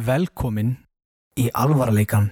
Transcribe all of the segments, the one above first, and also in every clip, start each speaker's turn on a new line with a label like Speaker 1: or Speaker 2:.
Speaker 1: Velkomin í alvarleikann.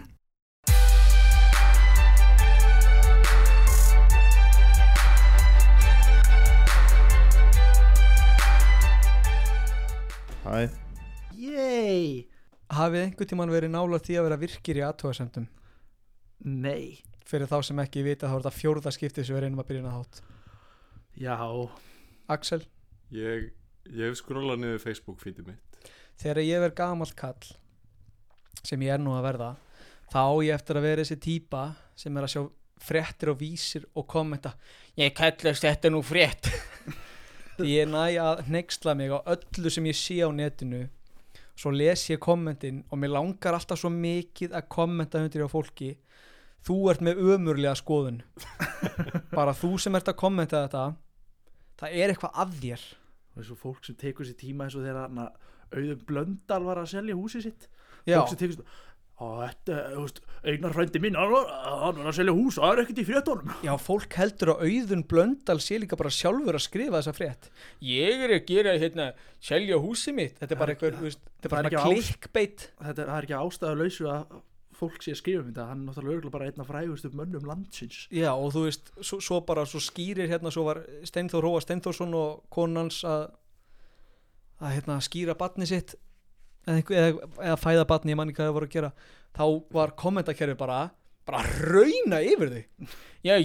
Speaker 2: Hæ.
Speaker 3: Yey.
Speaker 4: Hafið einhvern tímann verið nálægt því að vera virkir í athugasemdum?
Speaker 3: Nei.
Speaker 4: Fyrir þá sem ekki vita þá er þetta fjórða skiptið sem við reynum að byrja að þátt.
Speaker 3: Já.
Speaker 4: Axel,
Speaker 2: Ég hef skrólað niður Facebook feedið mitt.
Speaker 4: þegar ég verð gamall kall, sem ég er nú að verða, þá á ég eftir að vera þessi típa sem er að sjá fréttir og vísir og kommenta: ég kallast þetta nú frétt. Því ég næ að hneyksla mig á öllu sem ég sé á netinu. Svo les ég kommentin og mér langar alltaf svo mikið að kommenta undir á fólki: þú ert með ömurlega skoðun. Bara þú sem ert að kommenta þetta, það er eitthvað að þér.
Speaker 3: Það er svo fólk sem tekur sér tíma eins og þegar Auðun Blöndal var að selja húsið sitt.
Speaker 4: Já.
Speaker 3: Fólk sem tekur sér, þetta, þú veist, Einar frændi minn, hann var að selja hús, það er ekkert í fréttunum.
Speaker 4: Já, fólk heldur að Auðun Blöndal sé líka bara sjálfur að skrifa þessa frétt. Ég er að gera, selja húsið mitt. Þetta er bara eitthvað, þú veist, þetta er bara klikkbeit.
Speaker 3: Það er ekki ástæðulausu að fólk sé að skrifa um þetta. Hann er náttúrulega örugglega bara einn af frægustu mönnum landsins.
Speaker 4: Já, og þú veist, svo skýrir svo var Steinþór Róa Steinþórsson og konans að skýra barnið sitt eða fæða barnið, ég man ekki hvað það voru að gera. Þá var kommentakerfi bara rauna yfir þau. Já,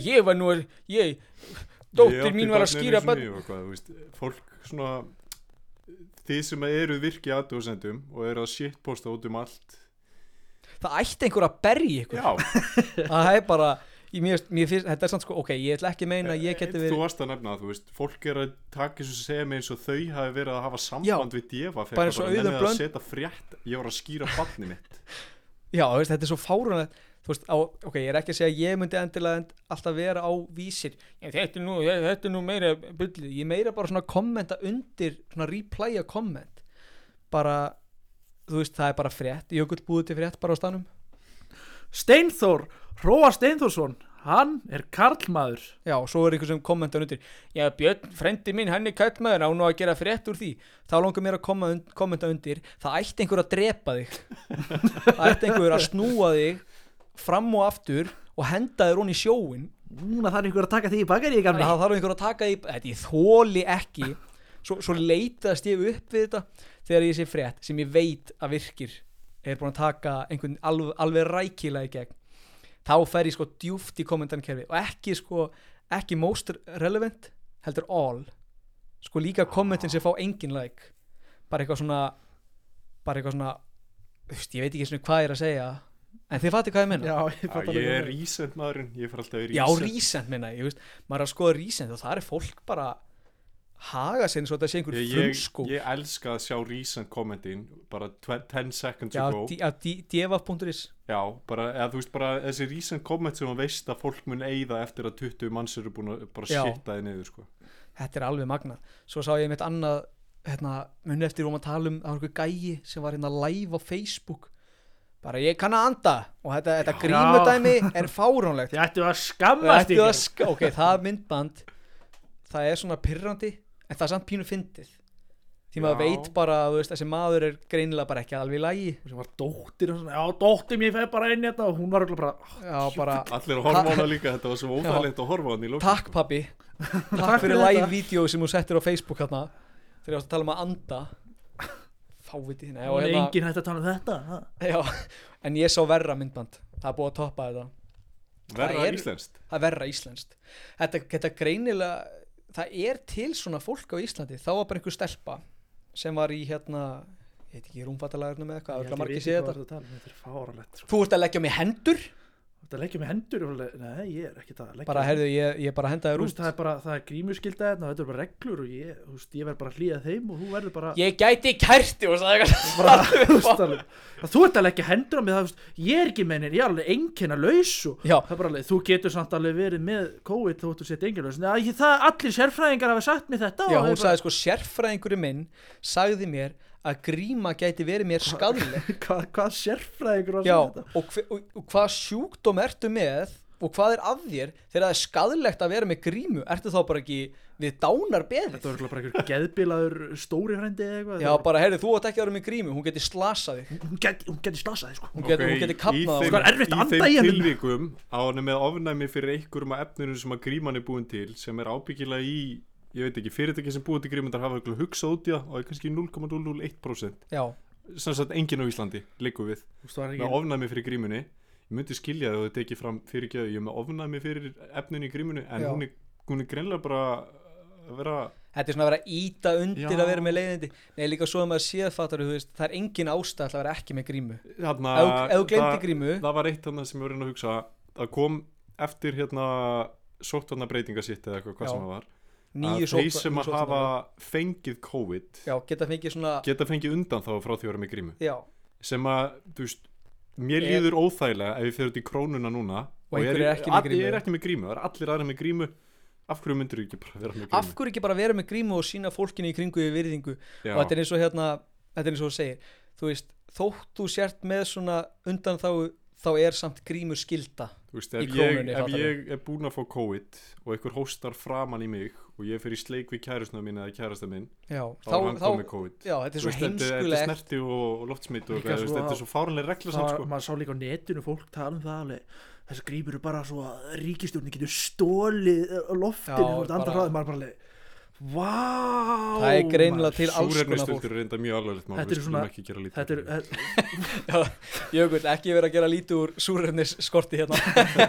Speaker 4: dóttir mín var að skýra
Speaker 2: barnið. Fólk svona, þið sem eru virki athugasendum og eru að shitposta út allt.
Speaker 4: Það ætti einhver að berja ykkur.
Speaker 2: Já.
Speaker 4: Það er bara, mér finnst, þetta er samt sko, ok, ég ætla ekki að meina að ég geti verið.
Speaker 2: Þú varst að nefna það, þú veist, fólk er að taka eins og segja mig eins og þau hafi verið að hafa samband við djefa.
Speaker 4: Bara eins og Auðun Blöndal
Speaker 2: að setja frétt, ég var að skýra barnið mitt.
Speaker 4: Já, þú veist, þetta er svo fáránlegt. Þú veist, ok, ég er ekki að segja að ég myndi endilega alltaf vera á vísir. Þetta er nú meira bullið. Ég meira bara svona kommenta undir, svona replaya komment. Bara, þú veist, það er bara frétt. Jökull búið til frétt bara á stanum.
Speaker 3: Steinþór Róa Steinþórsson, hann er karlmaður.
Speaker 4: Já, svo er einhver sem kommenta undir: já, Björn, frendi minn, hann er karlmaður, á nú að gera frétt úr því. Þá langar mér að kommenta undir: það ætti einhver að drepa þig. Það ætti einhver að snúa þig fram og aftur og henda þér onni í sjóin.
Speaker 3: Núna þarf einhver að taka því í bakari, gamli.
Speaker 4: Það þarf einhver að taka því, þetta ég þoli ekki. Svo leitast ég upp við þetta þegar ég sé frétt sem ég veit að virkir er búin að taka einhvern alveg rækilega í gegn. Þá fer ég sko djúpt í kommentarkerfi og ekki most relevant, heldur all. Sko líka kommentin sem fá engin like. Bara eitthvað svona, ég veit ekki svona hvað ég er að segja, en þið fattir hvað ég menna.
Speaker 2: Já, ég er recent maðurinn, ég fer alltaf í recent.
Speaker 4: Já, recent minna, ég veist, maður er að skoða recent og það er fólk bara haga sér eins og þetta sé einhver frumskó.
Speaker 2: Ég elska að sjá recent kommentin bara 10 seconds
Speaker 4: já,
Speaker 2: ago.
Speaker 4: djeva.is.
Speaker 2: Já, eða þú veist bara þessi recent comment sem þú veist að fólk mun eyða eftir að 20 manns eru búin að bara shitta þið niður sko.
Speaker 4: Þetta er alveg magnað. Svo sá ég mitt annað, muni eftir að tala um, það var einhver gæi sem var live á Facebook. Bara ég kann að anda og þetta grímudæmi er fáránlegt.
Speaker 3: Þið ættu að skammast ykkur.
Speaker 4: Ok, það myndband, það er svona pirrandi. En það er samt pínu fyndið. Því maður veit bara, þú veist, þessi maður er greinilega bara ekki alveg í lagi.
Speaker 3: Og sem var dóttir og svona, já, dóttir mér fer bara inn hérna og hún var örugglega bara,
Speaker 4: já, bara
Speaker 2: allir að horfa á hana líka, þetta var svo óþægilegt að horfa á hana í lókun.
Speaker 4: Takk pabbi. Takk fyrir live-vídeó sem þú settir á Facebook hérna. Þegar ég ást að tala um að anda. Fáviti þín.
Speaker 3: Og enginn hætti að tala um þetta.
Speaker 4: Já, en ég sá verra myndband. Það er búið að toppa þetta.
Speaker 2: Verra íslenskt.
Speaker 4: Það er verra íslenskt. Þetta greinilega, það er til svona fólk á Íslandi. Þá var bara einhver stelpa sem var í ég veit ekki, rúmfattalagarnum eða eitthvað, það er margir séð þetta.
Speaker 3: Þetta er fáránlegt.
Speaker 4: Þú ert að leggja mig hendur?
Speaker 3: Þú ert að leggja mig hendur? Nei, ég er ekki það að leggja.
Speaker 4: Bara heyrðu, ég bara henda þér út.
Speaker 3: Það er grímuskylda hérna, þetta er bara reglur og ég verð bara að hlýða þeim og þú verður bara.
Speaker 4: Ég gæti kærti og sagði
Speaker 3: þú ert að leggja hendur á mig, ég er ekki meinir, ég er alveg einkennalaus og það er bara alveg, þú getur samt alveg verið með COVID þó þú sett einkennalaus. Það allir sérfræðingar hafa sagt mér þetta.
Speaker 4: Já, hún sagði sko, sérfræðingurinn minn sagði mér að gríma gæti verið mér skaðleg.
Speaker 3: Hvað sérfræðingur var
Speaker 4: þetta? Já, og hvað sjúkdóm ertu með og hvað er að þér þegar það er skaðlegt að vera með grímu? Ertu þá bara ekki við dánar beðið?
Speaker 3: Þetta var bara einhver geðbilaður stóri frendi eða eitthvað.
Speaker 4: Já, bara heyrðu, þú átt ekki að vera með grímu, hún geti slasað þig.
Speaker 3: Hún geti slasað þig, sko.
Speaker 4: Hún geti kapnað
Speaker 3: Sko, er erfitt að anda í
Speaker 2: þeim
Speaker 3: henni.
Speaker 2: tilvikum á hann með ofnæmi fyrir einhverjum af efninu sem að gríman er búin til, sem er ábyggilega í, ég veit ekki, fyrirtæki sem búið til grímundar hafa eitthvað hugsað út í það og er kannski 0,001%.
Speaker 4: Já.
Speaker 2: Sem sagt enginn á Íslandi liggur við með ofnæmi fyrir grímunni. Ég myndi skilja það og þetta ekki fram fyrir gjöðu, ég er með ofnæmi fyrir efninu í grímunni, en hún er greinlega bara að vera...
Speaker 4: Þetta er svona að vera að íta undir að vera með leiðindi. Nei, líka svo að maður séð fattar, þú veist, það er engin ástæð að vera ekki með grímu. Ef þú glemdi grímu...
Speaker 2: Það var eitt þarna sem ég var að hugsa, að kom eftir sóttvarnarbreytingasitt eða eitthvað sem það var. Að þeir sem að hafa fengið COVID geta fengið undan þá frá því að vera með grímu.
Speaker 4: Já.
Speaker 2: Sem að, þú veist, mér líður óþægilega ef ég fer út í krónuna núna
Speaker 4: og ég er
Speaker 2: ekki með grímu, það er allir aðra með grímu. Af hverju myndir þú ekki bara vera með grímu?
Speaker 4: Af hverju ekki bara vera með grímu og sína fólkinu í kringu í virðingu? Já. Og þetta er eins og þetta er eins og þú segir, þú veist, þótt þú sért með svona undan þá er samt grímur skilda.
Speaker 2: Þú veist, ef ég er búinn að fá COVID og einhver hóstar framan í mig og ég fer í sleik við kærustuna mín eða kærasta minn, þá er hann komið COVID.
Speaker 4: Já, þetta er svo heimskulegt.
Speaker 2: Þetta er snerti og loftsmitt og þetta er svo fáránlega regla samt, sko.
Speaker 3: Maður sá líka á netinu fólk tala um það alveg, þessar grímur eru bara svo að ríkisstjórnin getur stólið loftinu og andra hraði, maður bara leið. Vá,
Speaker 4: það er greinilega til alls konar fólk.
Speaker 2: Súrefnisstöldur er reynda mjög alvarlegt mál, við skulum ekki gera lítið.
Speaker 4: Jökull, ekki vera að gera lítið úr súrefnisskorti hérna.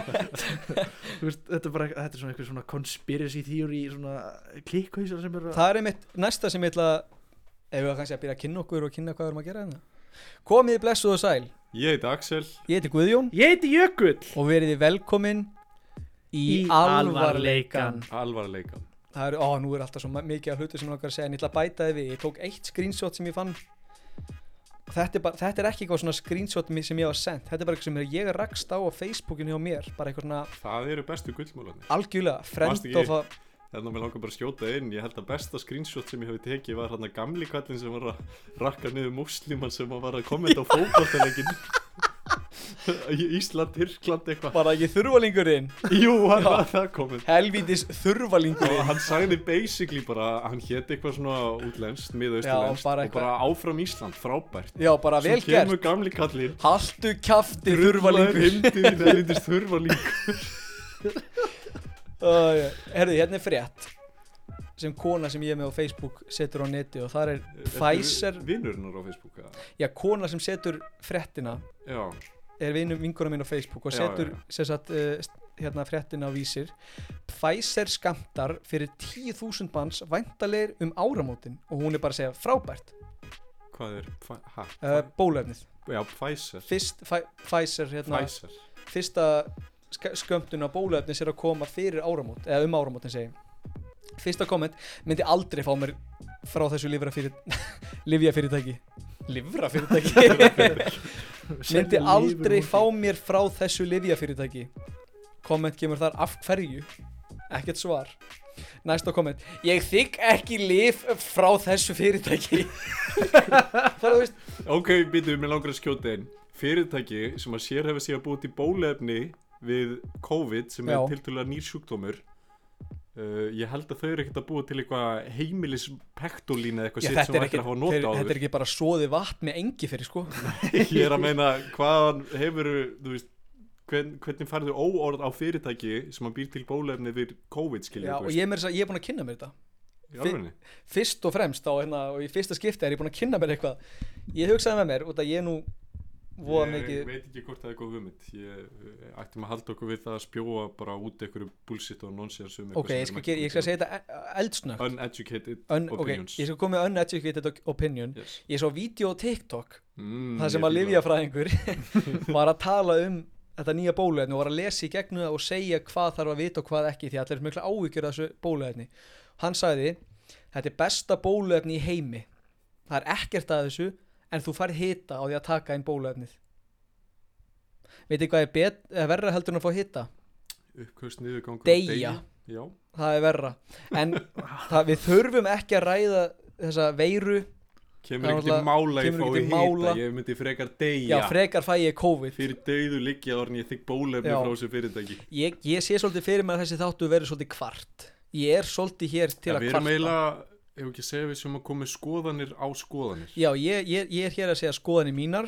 Speaker 3: Þetta er svona eitthvað svona conspiracy theory, svona klikkhausar sem eru...
Speaker 4: Það er einmitt næsta sem ég ætla ef við kannski að byrja að kynna okkur og kynna hvað við erum að gera hérna. Komið blessuð og sæl.
Speaker 2: Ég heiti Axel.
Speaker 4: Ég heiti Guðjón.
Speaker 3: Ég heiti Jökull.
Speaker 4: Og verið velkomin í alvarleikan. Það nú er alltaf svo mikið af hlutu sem ég okkar að segja en ég ætla að bæta þið við. Ég tók eitt screenshot sem ég fann. Þetta er ekki eitthvað svona screenshot sem ég var sendt. Þetta er bara eitthvað sem ég rakst á Facebookinu hjá mér. Bara eitthvað svona... Það
Speaker 2: eru bestu gullmálarnir.
Speaker 4: Algjörlega, friend of a...
Speaker 2: Þannig að mér langar bara að skjóta inn. Ég held að besta screenshot sem ég hafi tekið var hérna gamli kallinn sem var að rakka niður músliman sem var að kommenta á fótboltaleikinn. Ísland, Tyrkland eitthvað.
Speaker 4: Bara ekki þurvalingurinn.
Speaker 2: Jú, hann var það komið.
Speaker 4: Helvítis þurvalingurinn.
Speaker 2: Og hann sagði basically bara hann hét eitthvað svona útlenskt, miðausturlenskt og bara áfram Ísland, frábært.
Speaker 4: Já, bara vel gert.
Speaker 2: Svo kemur gamli kallinn.
Speaker 4: Haltu kjafti þurvalingur.
Speaker 2: Heimdið helvítis þurvalingur.
Speaker 4: Herðu, hérna er frétt sem kona sem ég er með á Facebook setur á neti og það er Pfizer.
Speaker 2: Vinurinn á Facebook?
Speaker 4: Já, kona sem setur fréttina. Já. Er vinkona mín á Facebook og setur sem sagt hérna fréttina á Vísir. Pfizer skammtar fyrir 10.000 manns væntalegir áramótin og hún er bara að segja frábært.
Speaker 2: Hvað er?
Speaker 4: Bóluefnið.
Speaker 2: Já, Pfizer.
Speaker 4: Pfizer hérna.
Speaker 2: Pfizer.
Speaker 4: Fyrsta skömmtun á bóluefnis er að koma fyrir áramót eða áramótin segi. Fyrsta komment myndi aldrei fá mér frá þessu lyfjafyrirtæki myndi aldrei fá mér frá þessu lyfjafyrirtæki. Komment kemur þar af hverju, ekkert svar. Næsta komment, ég þigg ekki lyf frá þessu fyrirtæki. Það þú veist.
Speaker 2: Ok, býtum við með langar að skjóta inn. Fyrirtæki sem að sérhæfa sig að búa til bóluefni við COVID sem er tiltölulega nýr sjúkdómur. Ég held að þau eru ekkert að búa til eitthvað heimilis pektolín eða eitthvað sitt sem ættir að hafa nota á þau.
Speaker 4: Þetta er ekki bara soði vatn með engi fyrir sko.
Speaker 2: Ég er að meina hvaðan hefur, þú veist, hvernig færðu óorð á fyrirtæki sem að býr til bóluefni við COVID skilja.
Speaker 4: Já, og ég er búin að kynna mér þetta. Fyrst og fremst og í fyrsta skipti er ég búin að kynna mér eitthvað. Ég hugsaði með mér út að ég nú
Speaker 2: ég veit ekki hvort það er góð hugmynd. Ég ættum að halda okkur við það að spjóa bara út einhverju bullshit og nonsens
Speaker 4: ok, ég skal segja þetta eldsnögt.
Speaker 2: Uneducated opinions.
Speaker 4: Ok, ég skal koma með uneducated opinion. Ég sá vídeo á TikTok þar sem að lyfjafræðingur var að tala þetta nýja bóluefni og var að lesa í gegnum það og segja hvað þarf að vita og hvað ekki því allir er mikla áhyggjur af þessu bóluefni. Hann sagði, þetta er besta bóluefni í heimi. Það er ekkert að þessu en þú færð hita á því að taka inn bóluefnið. Veitir hvað er verra heldur en að fá hita?
Speaker 2: Uppköst, niðurgangur,
Speaker 4: deyja. Já. Það er verra. En við þurfum ekki að ræða þessa veiru
Speaker 2: Kemur ekki til mála ég fái hita, ég myndi frekar deyja.
Speaker 4: Já, frekar fæ ég COVID.
Speaker 2: Fyrir dauðu liggja orðin ég þykk bólefni frá þessu fyrirtæki.
Speaker 4: Ég sé svolítið fyrir mér að þessi þáttu verið svolítið kvart. Ég er svolítið hér til að kvarta. Við erum
Speaker 2: eiginlega, ef ekki segja við sem að koma skoðanir á skoðanir.
Speaker 4: Já, ég er hér að segja skoðanir mínar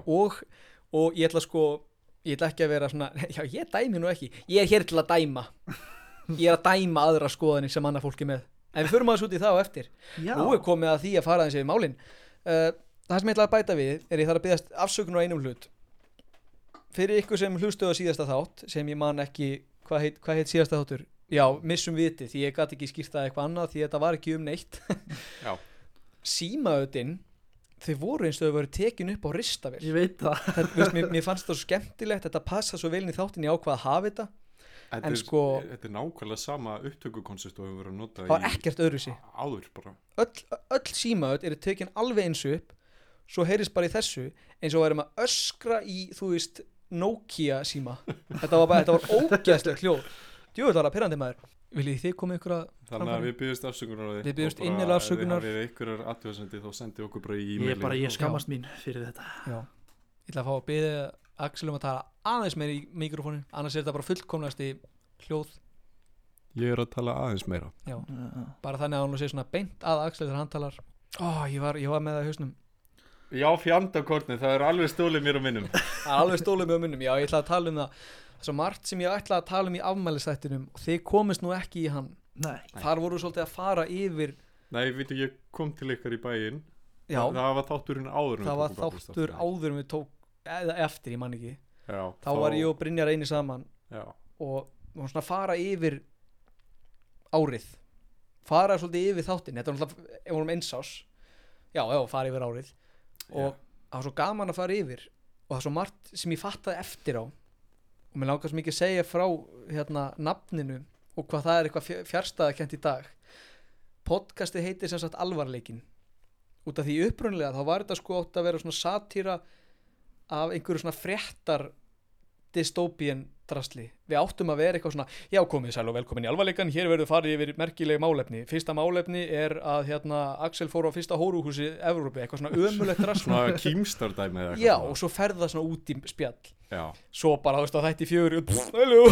Speaker 4: og ég ætla ekki að vera svona, já, ég dæmi nú ekki. Ég er hér til að dæma. Ég er að dæma aðra skoðanir sem annað fólki með. En við förum aðeins út í það á eftir. Já. Nú er komið að því að fara aðeins yfir málin. Það sem ég ætla að bæta við er ég þarf að biðjast afsökunar á einum hlut. Fyrir ykkur sem hlustuðu á síðasta þátt, sem ég man ekki, hvað heit síðasta þáttur? Já, missum viti, því ég gat ekki skýrt það eitthvað annað, því þetta var ekki neitt. Já. Símaötin, þau voru eins og þau voru tekin upp á ristavél.
Speaker 3: Ég veit það.
Speaker 4: Mér fannst það svo skemmtilegt, þetta passa svo vel inn í þáttin, ég ákvað að hafa þetta.
Speaker 2: Þetta nákvæmlega sama upptökukoncept og við verðum að nota
Speaker 4: það var ekkert öðruvísi
Speaker 2: áður bara
Speaker 4: öll símaöt eru tekin alveg eins upp svo heyrist bara í þessu eins og værum að öskra í þú veist Nokia síma þetta var ógeðslega hljóð djúvill var það pirrandi maður viljið þið koma ykkur að
Speaker 2: þannig að við byggjumst afsökunar á því
Speaker 4: við byggjumst innilega afsökunar
Speaker 2: ef við hafið ykkurar athugasemdi þá sendið okkur bara í e-maili
Speaker 3: ég skammast mín fyrir þetta
Speaker 4: já ég ætla að fá að biðja Axel að tala aðeins meira í mikrofónin annars er þetta bara fullkomnast í hljóð
Speaker 2: ég er að tala aðeins meira
Speaker 4: já, bara þannig að hann sé svona beint að Axel þegar hann talar ég var með það í hausnum
Speaker 2: já, fjandakortni, það er alveg stólið mér á minnum
Speaker 4: það er alveg stólið mér á minnum, já, ég ætla að tala um það svo margt sem ég ætla að tala um í afmælisþættinum og þið komist nú ekki í hann
Speaker 3: nei.
Speaker 4: Þar voru svolítið að fara yfir
Speaker 2: nei, veitu, ég kom til ykkar í bæinn það var þátturinn áður
Speaker 4: við tók eða eftir, ég man ekki
Speaker 2: já,
Speaker 4: þá var ég og Brynjar eini saman
Speaker 2: já.
Speaker 4: og svona fara yfir árið fara svolítið yfir þáttinn þetta var náttúrulega, ef við vorum einsás fara yfir árið og það var svo gaman að fara yfir og það er svo margt sem ég fattaði eftir á og mér langar svo mikið að segja frá nafninu og hvað það er eitthvað fjarstæðakent í dag podcastið heitir sem sagt alvarleikin út af því upprunlega þá var þetta sko átt að vera svona satýra af einhverju svona fréttar dystopian drasli við áttum að vera eitthvað svona já komið sæl og velkomin í alvarleikan hér verður farið yfir merkileg málefni fyrsta málefni er að Axel fór á fyrsta hóruhúsi Evrópu eitthvað svona ömulegt drasli
Speaker 2: svona kímstardæmi eða
Speaker 4: já og svo ferða svona út í spjall
Speaker 2: já
Speaker 4: svo bara þú veist að þætti 4 hello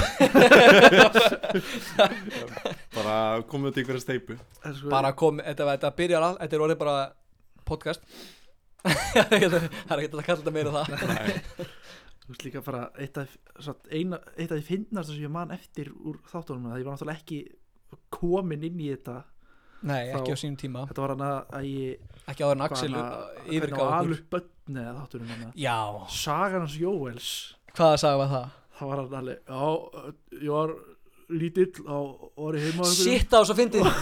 Speaker 2: bara komið út í einhverja steipu
Speaker 4: bara komið þetta byrjar þetta er orðið bara podcast það er ekki að kalla þetta meira það
Speaker 2: nei
Speaker 3: þú veist líka bara eitt af því fyndnasta sem ég man eftir úr þáttunum það ég var náttúrulega ekki komin inn í þetta
Speaker 4: nei, ekki á sínum tíma
Speaker 3: þetta var hann að ég
Speaker 4: ekki áður en Axel yfirgáð
Speaker 3: alveg bönni eða þáttunum
Speaker 4: já
Speaker 3: sagan hans Jóels
Speaker 4: hvaða saga var það?
Speaker 3: það var hann alveg já, ég var lítill á orði heima
Speaker 4: shit það var svo fyndið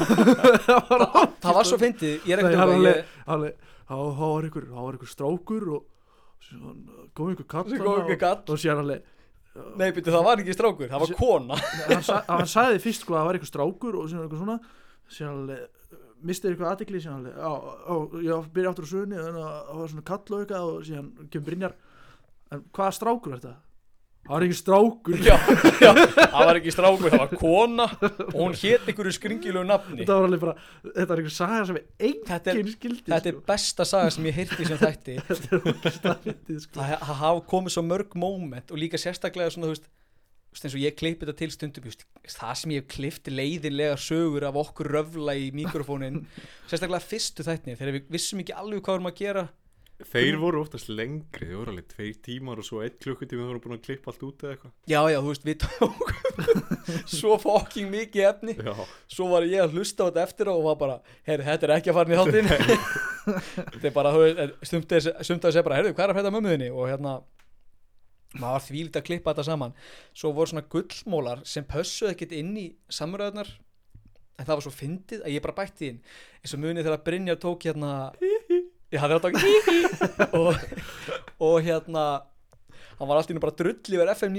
Speaker 4: það var svo fyndið ég er ekkert
Speaker 3: það var einhver strákur og kom einhver kall og sér alveg
Speaker 4: nei byrju það var ekki strákur, það var kona
Speaker 3: hann sagði fyrst sko að það var einhver strákur og sér eitthvað svona sér alveg mistið eitthvað athygli sér alveg ég byrja aftur á sögunni og það var svona kall og eitthvað og sér kemur Brynjar en hvaða strákur er þetta? það var ekki strákur
Speaker 4: já, það var ekki strákur, það var kona og hún hét einhverju skringilegu nafni
Speaker 3: þetta var alveg bara, þetta var einhver saga sem enginn skildi
Speaker 4: þetta er besta saga sem ég heyrti sem þætti
Speaker 3: þetta er ógeðslega fyndið sko
Speaker 4: það hafa komið svo mörg moment og líka sérstaklega svona þú veist eins og ég klippi þetta til stundum það sem ég hef klippt leiðinlega sögur af okkur röfla í mikrofónin sérstaklega fyrstu þættinni þegar við vissum ekki alveg hvað vorum að gera
Speaker 2: þeir voru oftast lengri, þeir voru alveg 2 tímar og svo 1 klukkutími þeir voru búin að klippa allt út eða eitthvað
Speaker 4: já, þú veist, við tókum svo fucking mikið efni
Speaker 2: já.
Speaker 4: Svo var ég að hlusta á þetta eftir og var bara, heyrðu, þetta er ekki að fara í þáttinn þetta er bara, þú veist, sumt að segja bara, heyrðu, hvað er að frétta mömmuðinni og maður var þvílít að klippa þetta saman svo voru svona gullmólar sem pössuð ekkert inn í samræðunar en það var svo fyndið að ég bara bætti inn eins og munið þegar Brynjar tók ég hafði átt á og hann var alltaf bara drull yfir FM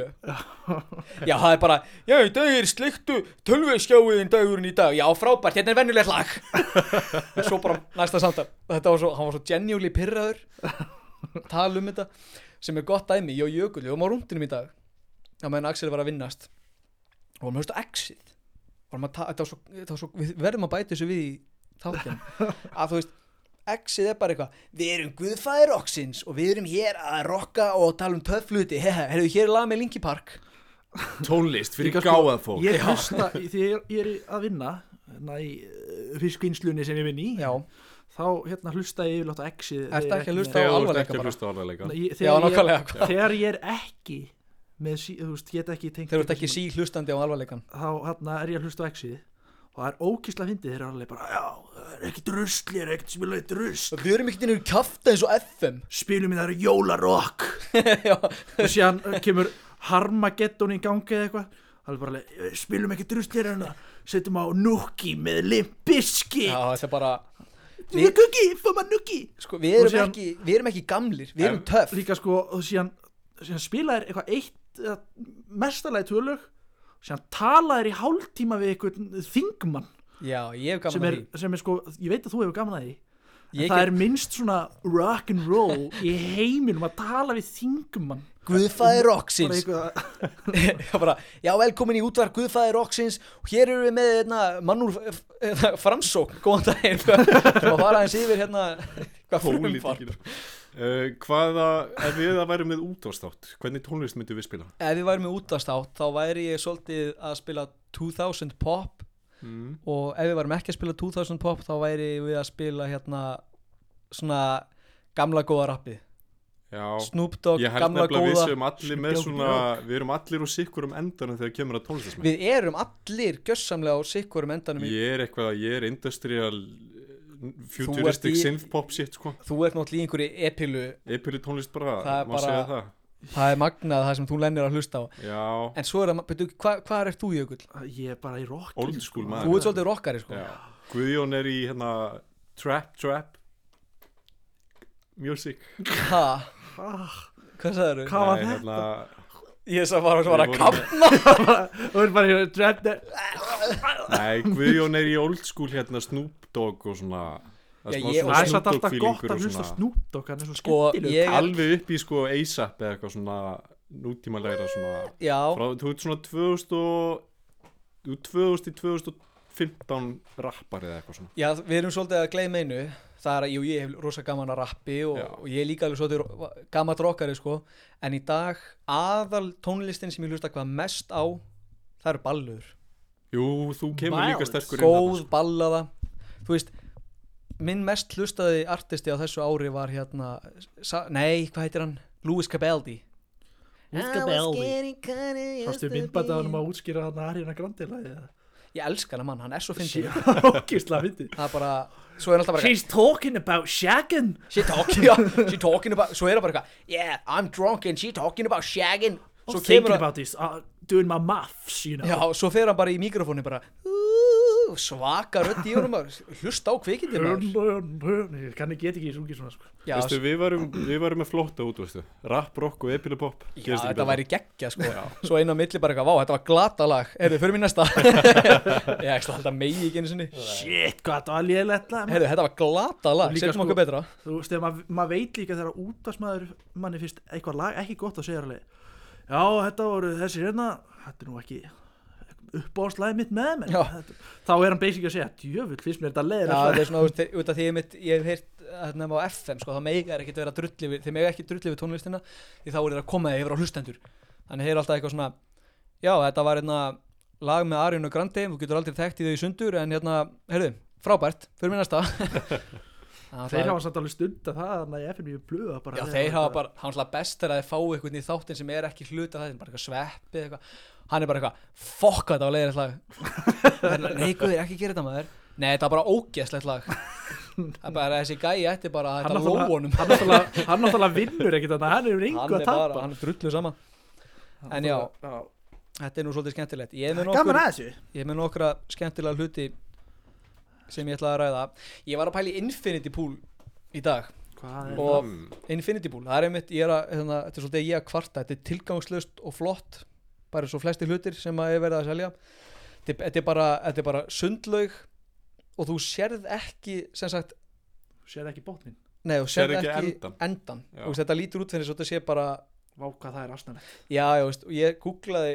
Speaker 4: 957 já, það er bara já, í dag er sliktu tölvuskjáiðin dagurinn í dag já, frábært, hérna er venjulegt lag svo bara næsta samtal hann var svo genuinely pirraður tala um þetta sem er gott dæmi, ég og Jökull við varum á rúndinum í dag á meðan Axel var að vinnast og varum höfst á exit við verðum að bæta þessu við í þáttinn að þú veist Exið bara eitthvað, við erum guðfæðir rocksins og við erum hér að rocka og tala töff hluti, heyrðu hér er lag með Linkin Park.
Speaker 2: Tónlist fyrir
Speaker 3: Líka
Speaker 2: gáðað fólk.
Speaker 3: Ég hlusta, því ég er að vinna í fiskvinnslunni sem ég vinn í,
Speaker 4: Já,
Speaker 3: þá hlusta ég yfirlátt á Exið.
Speaker 4: ertu ekki að hlusta á
Speaker 2: Þegar þú ert
Speaker 4: alvarleika
Speaker 2: ekki að
Speaker 4: bara?
Speaker 2: hlusta á alvarleika.
Speaker 4: Já, nákvæmlega.
Speaker 3: Þegar ég er ekki með, þú veist, get ekki tengt
Speaker 4: Þegar þú ert ekki hlustandi á alvarleikan.
Speaker 3: þá er ég að hlusta á Exið og það er ókísla fyndið, þeir eru alveg bara já, það er ekkert rusl, ég er ekkert spilað drusl,
Speaker 4: Við erum ekkert innur kjafta eins og FM.
Speaker 3: spilum í það eru jólarokk
Speaker 4: Já,
Speaker 3: og síðan kemur Harmageddon í gangi eða eitthvað, það er bara alveg, spilum ekkert drusl hérna, setjum á Nuki með Limp Bizkit,
Speaker 4: þetta er bara,
Speaker 3: við kuki, fá maður Nuki.
Speaker 4: sko, við erum ekki gamlir, við erum töff.
Speaker 3: Líka sko, og síðan spilaðir eitthvað eitt mestalagi tvölög, síðan talaðir í hálftíma við einhvern þingmann
Speaker 4: Já, ég hef gaman að því.
Speaker 3: sem er sko, ég veit að þú hefur gaman að því, en
Speaker 4: Ég
Speaker 3: það
Speaker 4: get-
Speaker 3: er minnst svona rock and roll í heiminum að tala við þingmann
Speaker 4: Guðfæðir
Speaker 3: bara
Speaker 4: rocksins.
Speaker 3: eitthvað,
Speaker 4: Já, velkomin í útvarp Guðfæðir rocksins og hér erum við með mann úr framsókn, góðan daginn sem að fara eins yfir hvað frumfar.
Speaker 2: Ef við það værum með útvarpsþátt, hvernig tónlist myndum við spila?
Speaker 4: Ef við værum með útvarpsþátt þá væri ég svolítið að spila 2000 pop og ef við værum ekki að spila 2000 pop þá væri við að spila svona gamla góða rappið.
Speaker 2: Já,
Speaker 4: Snoop Dogg,
Speaker 2: ég held
Speaker 4: gamla
Speaker 2: nefnilega við
Speaker 4: góða.
Speaker 2: séum allir með svona, við erum allir úr sikkurum endanum þegar kemur að tónlistasmenn.
Speaker 4: Við erum allir gjössamlega á sikkurum endanum
Speaker 2: Ég er industrial futuristic
Speaker 4: ert í-
Speaker 2: synthpop shit sko.
Speaker 4: Þú ert náttúrulega í einhverju epilu.
Speaker 2: Epili tónlist bara,
Speaker 4: Það er
Speaker 2: má
Speaker 4: bara-
Speaker 2: segja það.
Speaker 4: Það er magnað það sem þú lennir að hlusta á.
Speaker 2: Já,
Speaker 4: En svo er það, betur, hvað ert þú Jökull?
Speaker 3: ég er bara í rock
Speaker 2: old school maður.
Speaker 4: Þú ert svolítið rockari sko.
Speaker 2: Já. Guðjón er í trap music.
Speaker 4: Ha, hvað sagður
Speaker 3: Hvað var
Speaker 2: Nei,
Speaker 3: þetta?
Speaker 4: Ég sá bara svona
Speaker 2: Við vorum-
Speaker 4: kappna.
Speaker 3: Þú er bara í trap
Speaker 2: Nei, Guðjón er í old school Snoop Dogg og svona.
Speaker 4: Já,
Speaker 2: smá
Speaker 4: ég-
Speaker 2: svona
Speaker 3: Það er
Speaker 2: Snoop
Speaker 3: satt
Speaker 2: Dogg
Speaker 3: alltaf
Speaker 2: feelingur
Speaker 3: gott
Speaker 2: og
Speaker 3: að hlusta
Speaker 2: svona-
Speaker 3: Snoop Dogg, hann er svo
Speaker 4: Sko,
Speaker 3: skemmtileg
Speaker 4: ég-
Speaker 2: Alveg upp í ASAP eða eitthvað svona nútímalega svona.
Speaker 4: Já,
Speaker 2: Þú ert svona 2000 til 2015 rappar eða eitthvað svona.
Speaker 4: já, við erum svolítið að gleyma einu. Það er að, jú, ég hef rosa gaman að rappi
Speaker 2: Já.
Speaker 4: og ég er líka alveg svolítið gamall rockari sko. En í dag, aðal tónlistin sem ég hlusta hvað mest á, það eru ballöður.
Speaker 2: Jú, þú kemur líka
Speaker 3: Ballads.
Speaker 2: sterkur
Speaker 4: Góð ballaða. Þú veist, minn mest hlustaði artisti á þessu ári var nei, hvað heitir hann? Louis Capaldi.
Speaker 3: Sástu myndbætt að hann að útskýra hann að Ariana Grande lagið eða?
Speaker 4: Ég elska hann mann, hann er svo fyndið.
Speaker 3: Ógeðslega fyndið.
Speaker 4: Það er bara, svo er alltaf bara
Speaker 3: She's talking about shagging.
Speaker 4: she talking about, svo er það bara eitthvað, yeah, I'm drunk and she talking about shagging. Svo
Speaker 3: Thinking
Speaker 4: kemur
Speaker 3: about this, doing my maths, you know.
Speaker 4: já, svo fer hann bara í mikrofónu bara svaka rödd í honum maður, hlusta á kvikindið maður.
Speaker 3: Ég kann ekki, get ekki sungið svona sko.
Speaker 4: Já,
Speaker 2: Veistu, við varum með flotta út, veistu. Rap, rock og epilipop.
Speaker 4: já, þetta væri geggja sko. Svo einn á milli bara eitthvað, vá, þetta var glata lag. Heyrðu, förum í næsta. Ég ætla alltaf megi ekki einu sinni.
Speaker 3: Shit, hvað þetta var lélegt lag.
Speaker 4: Heyrðu, þetta var glata lag,
Speaker 3: Og líka
Speaker 4: setjum
Speaker 3: sko-
Speaker 4: okkur betra.
Speaker 3: Þú veist, þegar maður veit líka þegar útvarsmaður manni finnst eitthvað lag ekki gott að segja alveg, já, þetta voru þessi hérna, þetta er nú ekki uppáðslæði mitt með mér.
Speaker 4: Já.
Speaker 3: Þá er hann basic að segja, djöfull, finnst mér þetta
Speaker 4: Já,
Speaker 3: leiðilegt
Speaker 4: þetta
Speaker 3: lag.
Speaker 4: er svona, þú veist, út af því ég hef heyrt nefn á FM, sko, þá mega er ekkert vera drulli við, þeir mega ekki drulli við tónlistina, því þá er það að koma þeir yfir á hlustendur. Þannig þeir eru alltaf eitthvað svona, já, þetta var lag með Ariana Grande, þú getur aldrei þekkt í þau í sundur, en heyrðu, frábært, fyrir mér næsta.
Speaker 3: Þeir hafa samt alveg stund að það, þannig að ég finn mjög blöða bara.
Speaker 4: Já, þeir hafa bara, hann slá best er að þeir fá eitthvað í þáttin sem er ekki hluta það, bara eitthvað sveppi eitthvað, hann er bara eitthvað, fokk þetta á leiðir lag. Nei, guður, ekki gera þetta maður. Nei, þetta er bara ógeðslegt lag. Það er bara þessi gæi ætti bara að þetta lóunum.
Speaker 3: Hann náttúrulega vinnur ekkert þannig, hann er
Speaker 4: Hann
Speaker 3: yngu
Speaker 4: er
Speaker 3: að tapa.
Speaker 4: bara, hann er drullu sama. En já, þetta er nú svolítið skemmtilegt. Ég er
Speaker 3: Gaman að þessu.
Speaker 4: með nokkra skemmtilega hluti sem ég ætla að ræða. Ég var að pæla í Infinity Pool í dag.
Speaker 3: Hvað er
Speaker 4: Og Infinity Pool, það er einmitt, þetta er svolítið ég að kvarta, þetta er tilgangslaust og flott, bara svo flesti hlutir sem að ég verið að selja. Þetta er bara sundlaug og þú sérð ekki, sem sagt,
Speaker 3: Sér ekki botnin.
Speaker 4: nei, þú sérð
Speaker 2: Sérð ekki
Speaker 4: ekki
Speaker 2: endann.
Speaker 4: endan.
Speaker 2: Já.
Speaker 4: Þú veist, þetta lítur út fyrir svo þetta sé bara,
Speaker 3: Vá, hvað það er aðstæðanlegt.
Speaker 4: já, veist, og ég googlaði,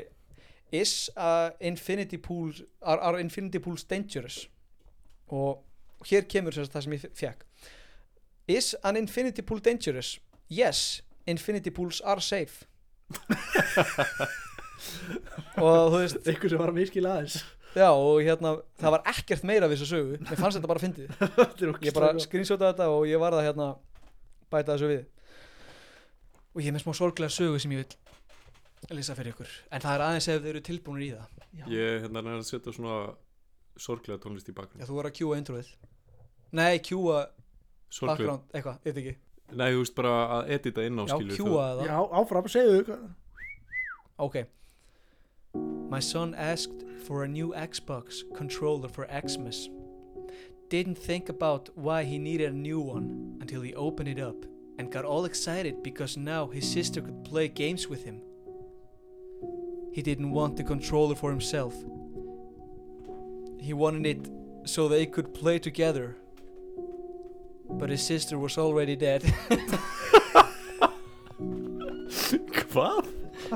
Speaker 4: are Infinity Pools dangerous? Og hér kemur sem sagt það sem ég fekk. Is an infinity pool dangerous? Yes, infinity pools are safe. Og þú veist,
Speaker 3: Einhver sem var að miskila aðeins.
Speaker 4: já, og hérna það var ekkert meira við þessu sögu. Mér fannst þetta bara fyndið.
Speaker 3: Þetta er
Speaker 4: Ég
Speaker 3: ógeðslega
Speaker 4: bara
Speaker 3: gott.
Speaker 4: screenshotaði þetta og ég var að hérna bæta þessu við. Og ég er með smá sorglega sögu sem ég vil lýsa fyrir ykkur. En það er aðeins ef þau eru tilbúinir í það.
Speaker 2: Ég hérna er að setja svona sorglega tónlist í
Speaker 4: Já,
Speaker 2: bakgrunn.
Speaker 4: þú var að kjúa introið. Nei, kjúa
Speaker 2: Sorglega.
Speaker 4: background, eitthvað, ég veit ekki.
Speaker 2: Nei, þú veist bara að edita inn á
Speaker 4: Já,
Speaker 2: skilur.
Speaker 4: kjúa það.
Speaker 3: Já, áfram, segðu hvað.
Speaker 4: Okay. My son asked for a new Xbox controller for Xmas. Didn't think about why he needed a new one until he opened it up and got all excited because now his sister could play games with him. He didn't want the controller for himself. He wanted it so they could play together. But his sister was already dead.
Speaker 2: Hvað?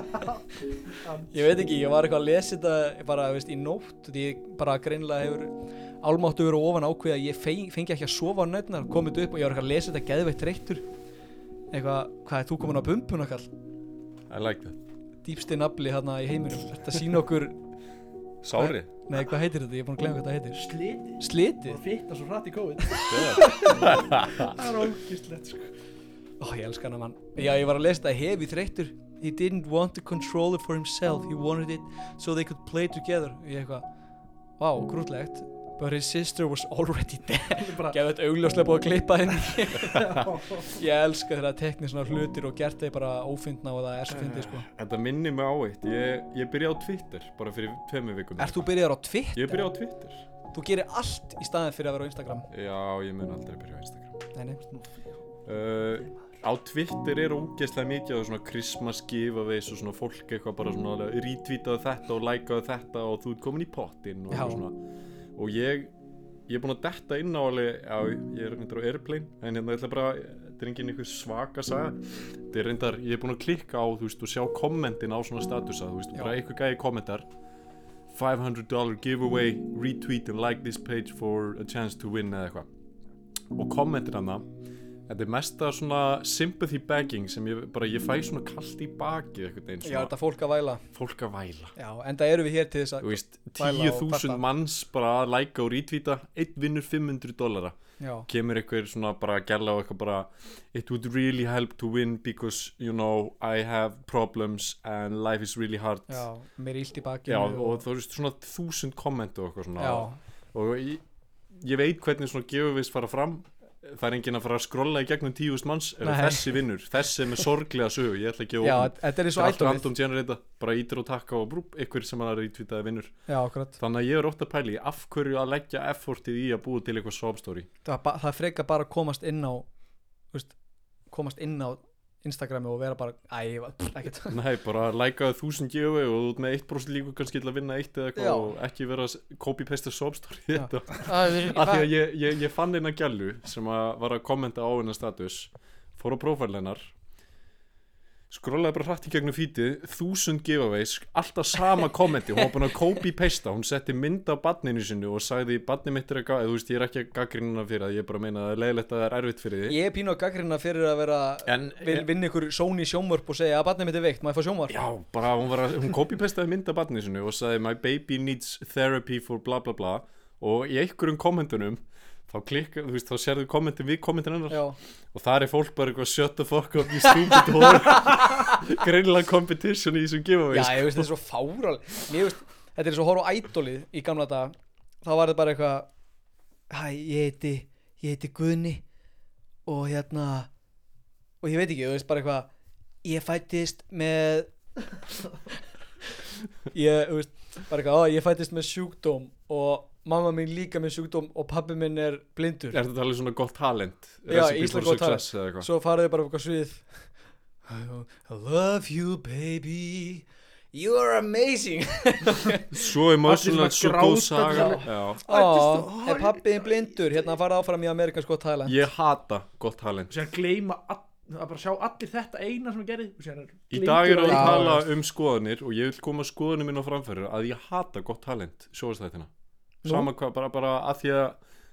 Speaker 4: Ég veit ekki, ég var eitthvað að lesa þetta bara, veist, í nótt því ég bara greinilega hefur álmáttu verið ofan ákveð að ég fengi ekki að sofa á nætnar, komið upp og ég var eitthvað að lesa þetta geðveitt þreyttur eitthvað, hvað er þú komin á bumbuna kall?
Speaker 2: I like that.
Speaker 4: Dýpsti nafli hérna í heiminum, þetta sína okkur
Speaker 2: Sári?
Speaker 4: Nei, hvað heitir þetta? Ég er búin að glemma hvað þetta heitir.
Speaker 3: Slitið.
Speaker 4: Slitið?
Speaker 3: Það fitna svo hratt í COVID. Það er ógeðslegt sko.
Speaker 4: Ó, ég elska hana mann. Já, ég var að lesa þetta hefi þreyttur. He didn't want the controller for himself. He wanted it so they could play together. Ég eitthvað, vá, grútlegt. But his sister was already dead.
Speaker 3: Bara,
Speaker 4: Gæði þetta augljóslega búið að klippa henni.
Speaker 3: já.
Speaker 4: Ég elska þegar það teknir svona hlutir og gert þeir bara ófyndna og það er svo fyndið sko.
Speaker 2: Þetta minnir mig á eitt. Ég byrjaði á Twitter bara fyrir 2 vikum.
Speaker 4: Ert þú byrjaður á Twitter?
Speaker 2: Ég byrjaði á Twitter.
Speaker 4: Þú gerir allt í staðin fyrir að vera á Instagram.
Speaker 2: Já, ég mun aldrei byrja á Instagram.
Speaker 4: Nei.
Speaker 2: Á Twitter er ógeðslega mikið á svona Christmas giveaways og svona fólk eitthvað bara svona retweetaðu þetta og likeaðu þetta og þú ert komin í pottinn og
Speaker 4: Já.
Speaker 2: eitthvað svona. Og ég er búinn að detta inn á alveg, já, ég er reyndar á Airplane, en hérna ég ætla bara, þetta er engin einhver svaka saga. Þetta er reyndar, ég er búinn að klikka á, þú veist, og sjá kommentin á svona statusa, þú veist,
Speaker 4: Já.
Speaker 2: bara einhver gæði kommentar, $500 giveaway, retweet and like this page for a chance to win eða eitthvað. Og kommentin hana, þetta er mesta svona sympathy begging sem ég fæ svona kalt í baki eitthvað einn
Speaker 4: Já,
Speaker 2: svona
Speaker 4: þetta fólk að væla.
Speaker 2: fólk að væla.
Speaker 4: Já, enda eru við hér til þess
Speaker 2: Þú
Speaker 4: að
Speaker 2: veist,
Speaker 4: væla og
Speaker 2: 10.000
Speaker 4: kvarta.
Speaker 2: manns bara að læka og retweeta, einn vinnur $500.
Speaker 4: Já,
Speaker 2: Kemur eitthvað svona bara að gæla og eitthvað bara it would really help to win because you know I have problems and life is really hard.
Speaker 4: já, mér er illt í bakinu.
Speaker 2: Já, og þú veist svona 1000 komment og eitthvað svona.
Speaker 4: Já,
Speaker 2: Og ég veit hvernig svona giveaways fara fram. Það er enginn að fara að skrolla í gegnum 10.000 manns ef
Speaker 4: Nei.
Speaker 2: þessi vinnur, þessi er með sorglega sögu, ég ætla ekki að
Speaker 4: já,
Speaker 2: opna.
Speaker 4: þetta er eins og
Speaker 2: Þetta er allt
Speaker 4: ætlumið.
Speaker 2: random generata, bara ítir og takka og brúp, ykkur sem að retweetaði vinnur.
Speaker 4: Já, akkurat.
Speaker 2: Þannig að ég er ótt að pæli af hverju að leggja effortið í að búa til eitthvað sob story.
Speaker 4: Það frekar bara að komast inn á, veist, komast inn á Instagrami og vera bara, ekkert.
Speaker 2: Nei, bara lækaðu 1000 giveaway og þú ert með 1% líku kannski til að vinna eitt eða
Speaker 4: Já.
Speaker 2: eitthvað og ekki vera að copy-paste sob story í
Speaker 4: Já.
Speaker 2: þetta.
Speaker 4: Af
Speaker 2: Af því að ég fann eina gælu sem að var að kommenta á hennar status, fór á prófæl hennar, skrollaði bara hratt í gegnum feedið, 1000 giveaways, alltaf sama kommenti, hún var búin að copy-pasta, hún setti mynd af barninu sinu og sagði barnið mitt er eitthvað, þú veist, ég er ekki að gagnrýna fyrir það, ég er bara að meina að það er leiðilegt að það er erfitt fyrir því.
Speaker 4: Ég er pínu að gaggrina fyrir að vera vinna ykkur Sony sjónvörp og segja að barnið mitt er veikt, má ég fá sjónvörp?
Speaker 2: Já, bara hún copy-pastaði mynd af barninu sinu og sagði my baby needs therapy for bla bla bla og í einhverjum kommentunum þá klikka, þú veist, þá sérðu kommentin við kommentin hennar
Speaker 4: Já,
Speaker 2: og það er fólk bara eitthvað shut the fuck up you stupid whore greinilega competition í þessum giveaways.
Speaker 4: já, ég veist þetta er svo fáral. Mér veist, þetta er svo að horfa á Idolið í gamla daga. Þá var þetta bara eitthvað, hæ, ég heiti Guðni og hérna, og ég veit ekki, þú veist, bara eitthvað, ég fættist með, þú veist, bara eitthvað, ég fættist með sjúkdóm og mamma mín líka með sjúkdóm og pabbi minn er blindur.
Speaker 2: Er þetta alveg svona gott talent?
Speaker 4: Já,
Speaker 2: Recipe
Speaker 4: Ísland
Speaker 2: for
Speaker 4: gott
Speaker 2: success eða eitthvað?
Speaker 4: Svo farið bara eitthvað svið I love you baby You are amazing
Speaker 2: Svo emotional,
Speaker 3: Allir
Speaker 2: svo
Speaker 3: svona
Speaker 2: góð
Speaker 3: gráta
Speaker 2: saga.
Speaker 3: allir.
Speaker 2: Já.
Speaker 4: Er pabbi þinn blindur Hérna farið áfram í Amerikans Got Talent
Speaker 2: Ég hata gott talent.
Speaker 3: Og sér gleyma að bara sjá allir þetta eina sem ég gerði og sér
Speaker 2: Í dag er að
Speaker 4: Já,
Speaker 2: tala skoðanir og ég vil koma skoðanir minn á framfæri að ég hata gott talent sjóðastættina.
Speaker 4: Nú?
Speaker 2: Sama hvað, bara að því að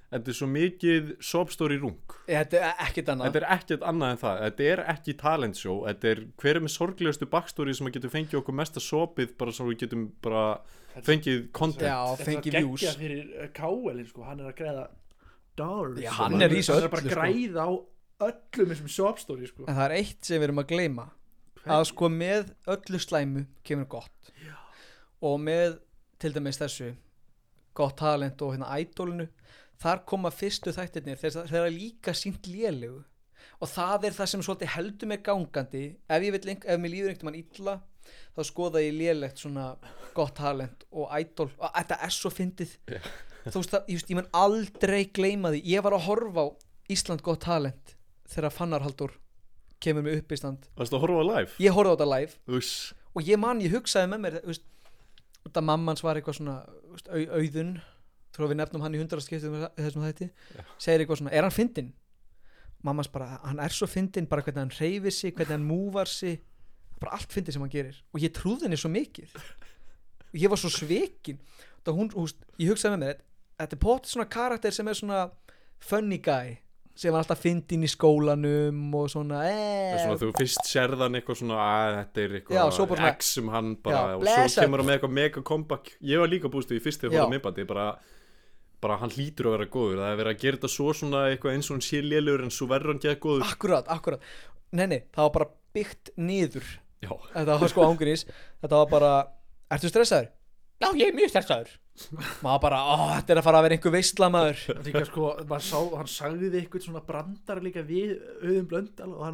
Speaker 2: þetta er svo mikið soapstory rung.
Speaker 4: Þetta er ekkert annað.
Speaker 2: Þetta er ekkert annað en það. Þetta er ekki talent show. Þetta er hver með sorglegustu backstory sem að getur fengið okkur mesta sopið bara svo við getum bara fengið content.
Speaker 4: Já, fengið views.
Speaker 3: Þetta er fyrir K.L. sko, hann er að græða dollars.
Speaker 4: Já, hann er í þessu
Speaker 3: Hann er bara
Speaker 4: öllu,
Speaker 3: að græða á öllum þessum soapstory sko.
Speaker 4: En það er eitt sem við erum að gleyma. Að sko með öllu slæmu kemur gott. Já. Og með til dæmis þessu gott talent og hérna Idolinu, þar koma fyrstu þættirnir þegar líka sýnt lélegu og það er það sem svolítið heldur mig gangandi. Ef mér líður einhvern mann illa þá skoða ég lélegt svona gott talent og Idol og þetta er svo fyndið. Þú veist það, ég mun aldrei gleyma því. Ég var að horfa á Ísland gott talent þegar Fannar Halldór kemur með uppistand.
Speaker 2: Varstu að horfa á live?
Speaker 4: Ég horfði á þetta live.
Speaker 2: Uss.
Speaker 4: Og ég hugsaði með mér, þetta mammans var eitthvað svona Auðun, tror við nefnum hann í 100 skiptum þessum þætti, segir eitthvað svona, er hann fyndinn? Mammans bara, hann er svo fyndinn, bara hvernig hann hreyfir sig, hvernig hann múvar sig, bara allt fyndið sem hann gerir. Og ég trúði henni svo mikið. Og ég var svo svekin. Ég hugsaði með mér, þetta er potið svona karakter sem er svona funny guy, sem var alltaf fyndinn í skólanum og svona það er svona
Speaker 2: þú fyrst sérðan eitthvað svona að þetta er eitthvað
Speaker 4: já,
Speaker 2: X sem hann bara
Speaker 4: já,
Speaker 2: og svo kemur hann með eitthvað mega comeback. Ég var líka búist við í fyrst þegar ég horfði á myndbandi bara hann hlýtur að vera góður. Það er verið að gera þetta svona eitthvað eins og hann sé lélegur en svo verður hann geða góður.
Speaker 4: Akkurat. Nei, það var bara byggt niður.
Speaker 2: Já.
Speaker 4: Þetta var sko ángurís. Þetta var bara, ertu stressaður? Já, ég er mjög stressaður. Maður bara, þetta er að fara að vera einhver veisla maður.
Speaker 3: Líka sko, hann sagði eitthvað svona brandar líka við Auðun Blöndal og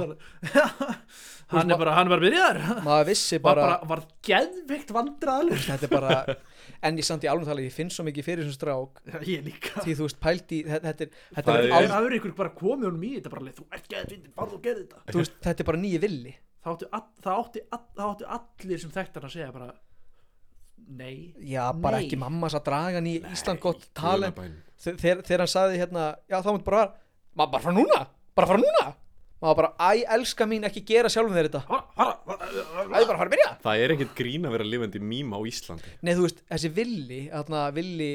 Speaker 3: hann er bara byrjaður.
Speaker 4: Maður vissi bara
Speaker 3: var geðveikt vandræðalegur.
Speaker 4: Þetta er bara, en ég samt í alveg tala, ég finn svo mikið fyrir þessum strák.
Speaker 3: Ég líka.
Speaker 4: Því þú veist, pældi, þetta
Speaker 3: er ykkur bara komið honum í þetta bara, þú ert geðvindin, farðu og gerði þetta.
Speaker 4: Þú veist, þetta er bara nýji villi.
Speaker 3: Það áttu allir sem þekktar að segja bara nei.
Speaker 4: Já, bara ekki mammas að draga hann í Ísland gott talent. Þegar hann sagði hérna, já þá mútti bara fara núna. Maður bara, elska mín, ekki gera sjálfum þér þetta. Bara fara að byrja.
Speaker 2: Það er ekkert grín að vera lifandi mím á Íslandi.
Speaker 4: Nei, þú veist, þessi Villi, Villi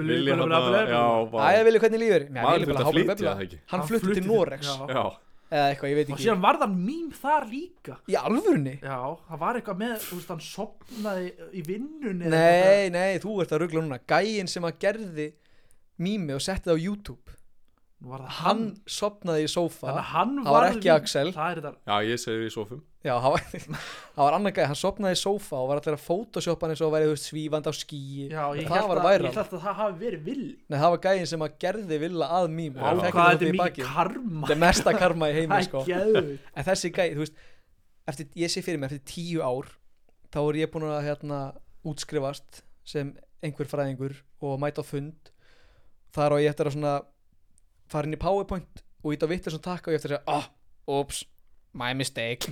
Speaker 4: hvernig lífur?
Speaker 2: Maður þurft að flytja það ekki.
Speaker 4: Hann flutti til Noregs.
Speaker 2: Já.
Speaker 4: Eða eitthvað, ég veit ekki.
Speaker 3: Og síðan var það mím þar líka.
Speaker 4: Í alvörunni?
Speaker 3: Já, það var eitthvað með, þú veist, hann sofnaði í vinnunni.
Speaker 4: Nei, þú ert að rugla núna. Gæinn sem að gerði mými og setti það á YouTube. Hann sofnaði í sófa. Það var ekki Axel.
Speaker 2: Já, ég segir í sófum.
Speaker 4: Já, það var annar gæði. Hann sofnaði í sófa og var allir að photoshoppa hann eins og væri, þú veist, svífandi á skíi. Já, ég held að
Speaker 3: það hafi verið Villi.
Speaker 4: Nei, það var gæðin sem að gerði Villa að mím.
Speaker 3: Hvað þetta er mikið karma.
Speaker 4: Þetta er mesta karma í heimi, sko.
Speaker 3: En
Speaker 4: þessi gæði, þú veist, ég sé fyrir mig eftir 10 ár, þá er ég búin að útskrifast sem einhver fræðingur og mæta á fund. Þar á ég eftir að svona fara inn í PowerPoint og ít á vittir svona takka og ég eftir að segja, oops, my mistake.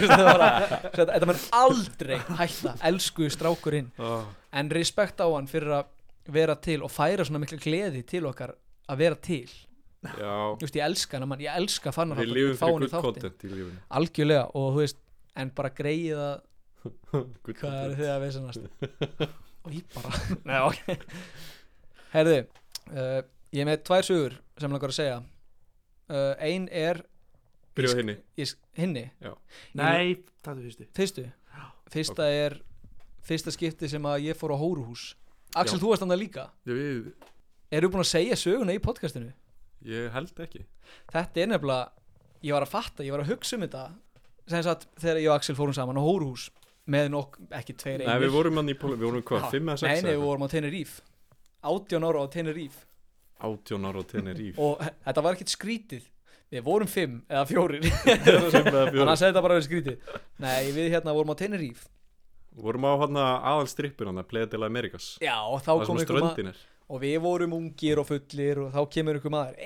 Speaker 4: Þetta mun aldrei hætta, elsku strákurinn. En respekt á hann fyrir að vera til og færa svona miklu gleði til okkar að vera til.
Speaker 2: Já.
Speaker 4: Just, ég elska hann, ég elska Fannar
Speaker 2: Halldór. Við lifum fyrir good content í lífinu.
Speaker 4: Algjörlega, og þú veist, en bara greið að hvað er þið að veisannast? Og ég bara, nei, ok. Herðu, ég er með 2 sögur sem langar að segja. Ein er
Speaker 2: byrjuð hinni.
Speaker 4: Hinni?
Speaker 2: Já.
Speaker 3: Nei, það er
Speaker 4: fyrstu. Fyrsta er fyrsta skipti sem að ég fór á hóruhús. Axel, þú varst annað líka. Eru búin að segja söguna í podcastinu?
Speaker 2: Ég held ekki.
Speaker 4: Þetta er nefnilega, ég var að hugsa um þetta sem sagt þegar ég og Axel fórum saman á hóruhús með ekki 2 einir.
Speaker 2: Nei, við vorum hvað, 5 eða 6?
Speaker 4: Nei, við vorum á Tenerife. 18 ára á Tenerife.
Speaker 2: 18 ára á Tenerife.
Speaker 4: Og þetta var ekkert skrítið. Við vorum 5 eða 4. Þannig að segja þetta bara verið skrítið. Nei, við vorum á Tenerife.
Speaker 2: Vorum á aðalstrippur Playa de la Americas.
Speaker 4: Já, og þá kom ykkur maður. Og við vorum ungir og fullir og þá kemur ykkur maður.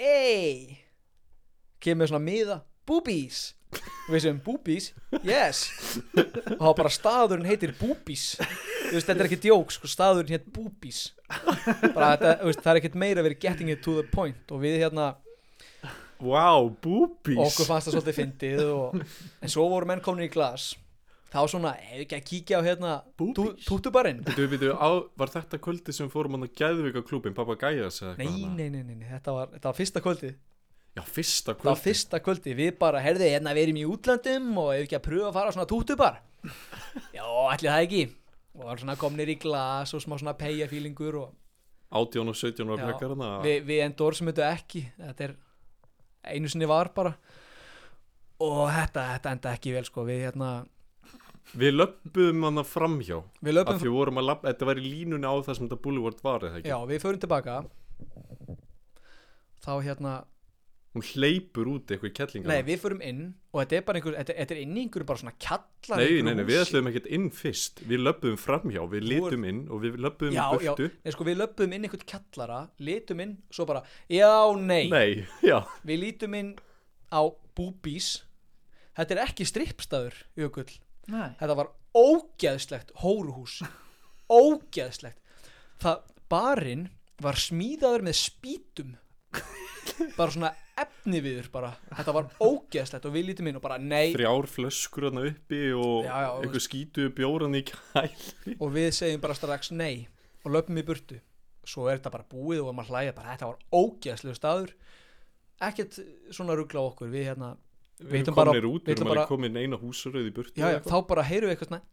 Speaker 4: Kemur svona miða. Boobies. Og við segjum, boobies? Yes. Og þá bara staðurinn heitir Boobies. Þú veist, þetta er ekki djók, sko, staðurinn heit Boobies. Bara þetta, þú veist, það er ekkert meira verið getting it to the point. Og við
Speaker 2: wow, Boobies.
Speaker 4: Okkur fannst það svolítið fyndið en svo voru menn komin í glas þá svona, hefur ekki að kíkja á hérna
Speaker 3: Boobies.
Speaker 4: tútubarinn.
Speaker 2: Var þetta kvöldi sem fórum hann að Geðvika klúbin, Pappa Gæjas eða
Speaker 4: Nei, þetta var fyrsta kvöldi.
Speaker 2: Já, fyrsta
Speaker 4: Það var
Speaker 2: kvöldi.
Speaker 4: fyrsta kvöldi, við bara, herði, hérna við erum í útlandum og hefur ekki að pröfa að fara á svona tútubar. Já, ætli það ekki. Og var svona komnir í glas og smá svona peyjafílingur og
Speaker 2: 18 og 17 var
Speaker 4: Já,
Speaker 2: krakkar hana.
Speaker 4: við endorsum þetta ekki. Þetta er einu sinni var bara. Og þetta enda ekki vel, sko.
Speaker 2: Við löpum hana framhjá.
Speaker 4: Við löpum
Speaker 2: Af því við vorum að labba, þetta var í línunni á það sem þetta Boulevard var, eða ekki?
Speaker 4: Já, við förum tilbaka. Þá
Speaker 2: Hún hleypur út eitthvað í kettlinga.
Speaker 4: Nei, við förum inn og þetta er bara þetta er inn í einhverju bara svona kjallar.
Speaker 2: Nei, við ætlum ekkert inn fyrst. Við löpum framhjá, við litum inn og við löpum í burtu.
Speaker 4: Nei, sko, við löpum inn einhvern kjallara, litum inn, svo bara, já, nei.
Speaker 2: Nei, já.
Speaker 4: Við lítum inn á Boobies. Þetta er ekki strippstaður, Jökull.
Speaker 3: Nei.
Speaker 4: Þetta var ógeðslegt hóruhús. Ógeðslegt. Barinn var smíðaður með spýtum. Bara svona efniviður bara. Þetta var ógeðslegt og við lítum inn og bara nei.
Speaker 2: 3 flöskur hana uppi og einhver skítu bjóran í kæli.
Speaker 4: Og við segjum bara strax nei og löpum í burtu. Svo er þetta bara búið og maður hlæja bara, þetta var ógeðslegu staður. Ekkert svona rugla á okkur. Við
Speaker 2: erum kominir út, við erum alveg komin eina húsaröð í burtu.
Speaker 4: Já, þá bara heyrum við eitthvað svona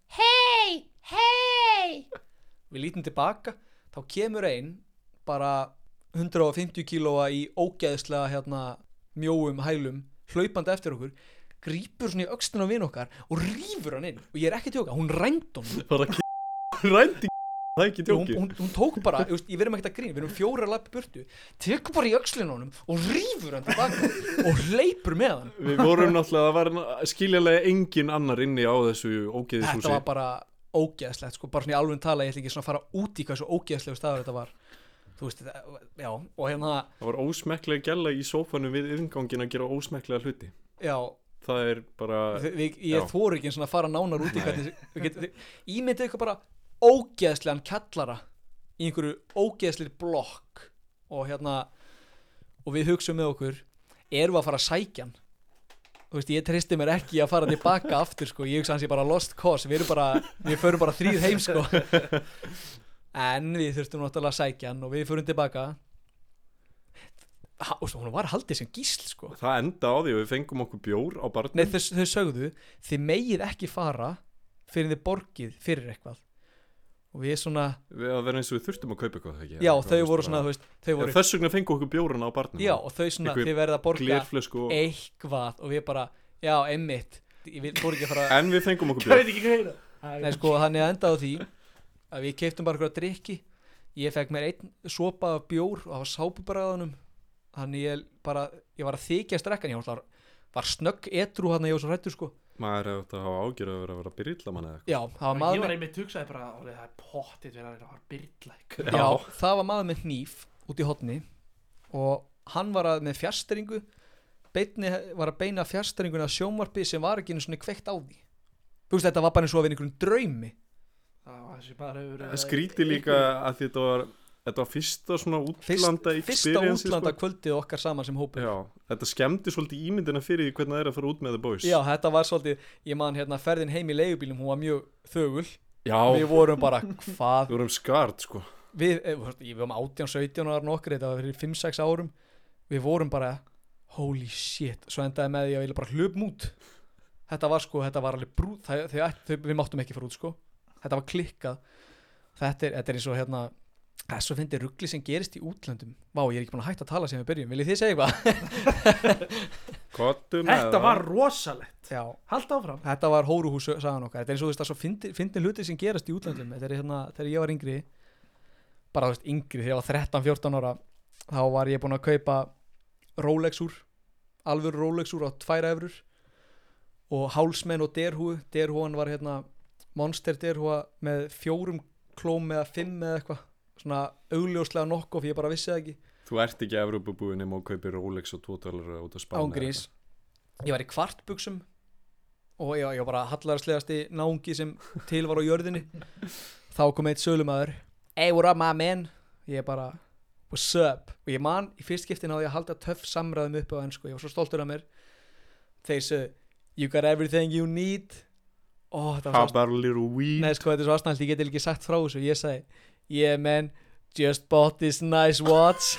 Speaker 4: hei. Við lítum tilbaka, þá kemur ein bara 150 kílóa í ógeðslega mjóum hælum hlaupandi eftir okkur, grípur svona í öxlina á vin okkar og rífur hann inn og ég er ekki að tjóka, hún rændi honum
Speaker 2: bara rændi það er ekki tjóki
Speaker 4: hún tók bara, ég verðum ekki að grína, við erum 4 lappi burtu, tekur bara í öxlina á honum og rífur hann tilbaka og hleypur með hann.
Speaker 2: Við vorum náttúrulega, það var skiljanlega engin annar inni á þessu ógeðishúsi.
Speaker 4: Þetta var bara ógeðslegt, sko, bara svona í alveg tala, ég ætla ekki svona að fara út í hvað svo ógeðslegu staður þetta var. Þú veist, já, og það var
Speaker 2: ósmekklega gælla í sófanum við inngangin að gera ósmekklega hluti.
Speaker 4: Já.
Speaker 2: Það er bara
Speaker 4: ég þori ekki svona að fara nánar út í hvernig ímyndið eitthvað bara ógeðslegan kjallara í einhverju ógeðslir blokk og og við hugsaum með okkur, erum við að fara að sækja hann? Þú veist, ég tristi mér ekki að fara tilbaka aftur, sko, ég hugsa hans ég bara lost cause, við förum bara 3 heim, sko. En við þurftum náttúrulega að sækja hann og við förum tilbaka. Hún var haldið sem gísl, sko.
Speaker 2: Það enda á því og við fengum okkur bjór á barnum.
Speaker 4: Nei, þau sögðu, þið megið ekki fara fyrir þið borgið fyrir eitthvað. Og við svona
Speaker 2: við að vera eins og við þurftum að kaupa eitthvað, ekki?
Speaker 4: Já, þau voru svona, þú veist,
Speaker 2: þess vegna fengum okkur bjórana á barnum.
Speaker 4: Já, og þau svona, þið verða að borga eitthvað og við bara, já, einmitt. Ég fór ekki að fara
Speaker 2: En við fengum okkur bjór.
Speaker 4: Nei, sko, þannig að enda á því að við keyptum bara eitthvað drykki. Ég fekk mér 1 sopa af bjór og það var sápubragðanum. Þannig ég var að þykjast drekkan. Ég var snögg edrú hann að ég var svo hræddur, sko.
Speaker 2: Maður hefði þetta að hafa ágjörð að vera byrilla mann eða eitthvað.
Speaker 4: Já, það var maður
Speaker 3: Ég var einmitt hugsaði bara, það er pottið verið að vera byrilla.
Speaker 4: Já, það var maður með hníf út í hotni og hann var með fjastringu. Beinni var að beina fjastringuna að sjónvarpi sem var ekki einu svona kveikt á því. Þú veist, þetta var bara eins og að vera einhverjum draumi.
Speaker 2: Skríti líka að þetta var fyrsta svona útlanda
Speaker 4: fyrsta útlanda kvöldið okkar saman sem hópur.
Speaker 2: Já, þetta skemmti svolítið ímyndina fyrir því hvernig það er að fara út með The Boys.
Speaker 4: Já, þetta var svolítið, ég man ferðin heim í leigubílum, hún var mjög þögul.
Speaker 2: Já.
Speaker 4: Við vorum bara, hvað?
Speaker 2: Við vorum skart, sko.
Speaker 4: Við varum 18-17 ára nokkur, þetta var fyrir 5-6 árum. Við vorum bara, holy shit, svo endaði með því að ég bara hlupum út. Þetta var alveg brúð, við máttum ekki fara út, sko. Þetta var klikkað. Þetta er eins og svo finnir rugli sem gerist í útlöndum. Vá, ég er ekki búin að hætta að tala sem við byrjum. Viljið þið segja eitthvað?
Speaker 3: Þetta var rosalegt.
Speaker 4: Já.
Speaker 3: Haltu áfram.
Speaker 4: Þetta var hóruhús sagan okkar. Þetta er eins og þú veist að finnir hluti sem gerast í útlöndum. Þetta er þegar ég var yngri, bara þú veist yngri, þegar ég var 13-14 ára, þá var ég búin að kaupa Rolex-úr, alvöru Rolex-úr á 2 eurur og hálsmenn og derhúan var Monster derhúa með 4 klóm eða 5 eða eitthvað, svona augljóslega nokkuð, ég bara vissi það ekki.
Speaker 2: Þú ert ekki Evrópubúinn nema að kaupa Rolex og $2 út á Spáni.
Speaker 4: Ángríns. Ég var í kvartbuxum og ég var bara hallarslegasti náungi sem til var á jörðinni. Þá kom eitt sölumaður, hey, what up my man? Ég bara, what's up? Og ég man í fyrst skiptin á því að halda töff samræðum upp á ensku, ég var svo stoltur af mér. Þeir sögðu, you got everything you need. þetta var
Speaker 2: How
Speaker 4: svo
Speaker 2: about a little weed?
Speaker 4: Nei, sko, þetta er svo aðstæðanlegt, ég get ekki sagt frá þessu. Ég sagði, yeah man, just bought this nice watch.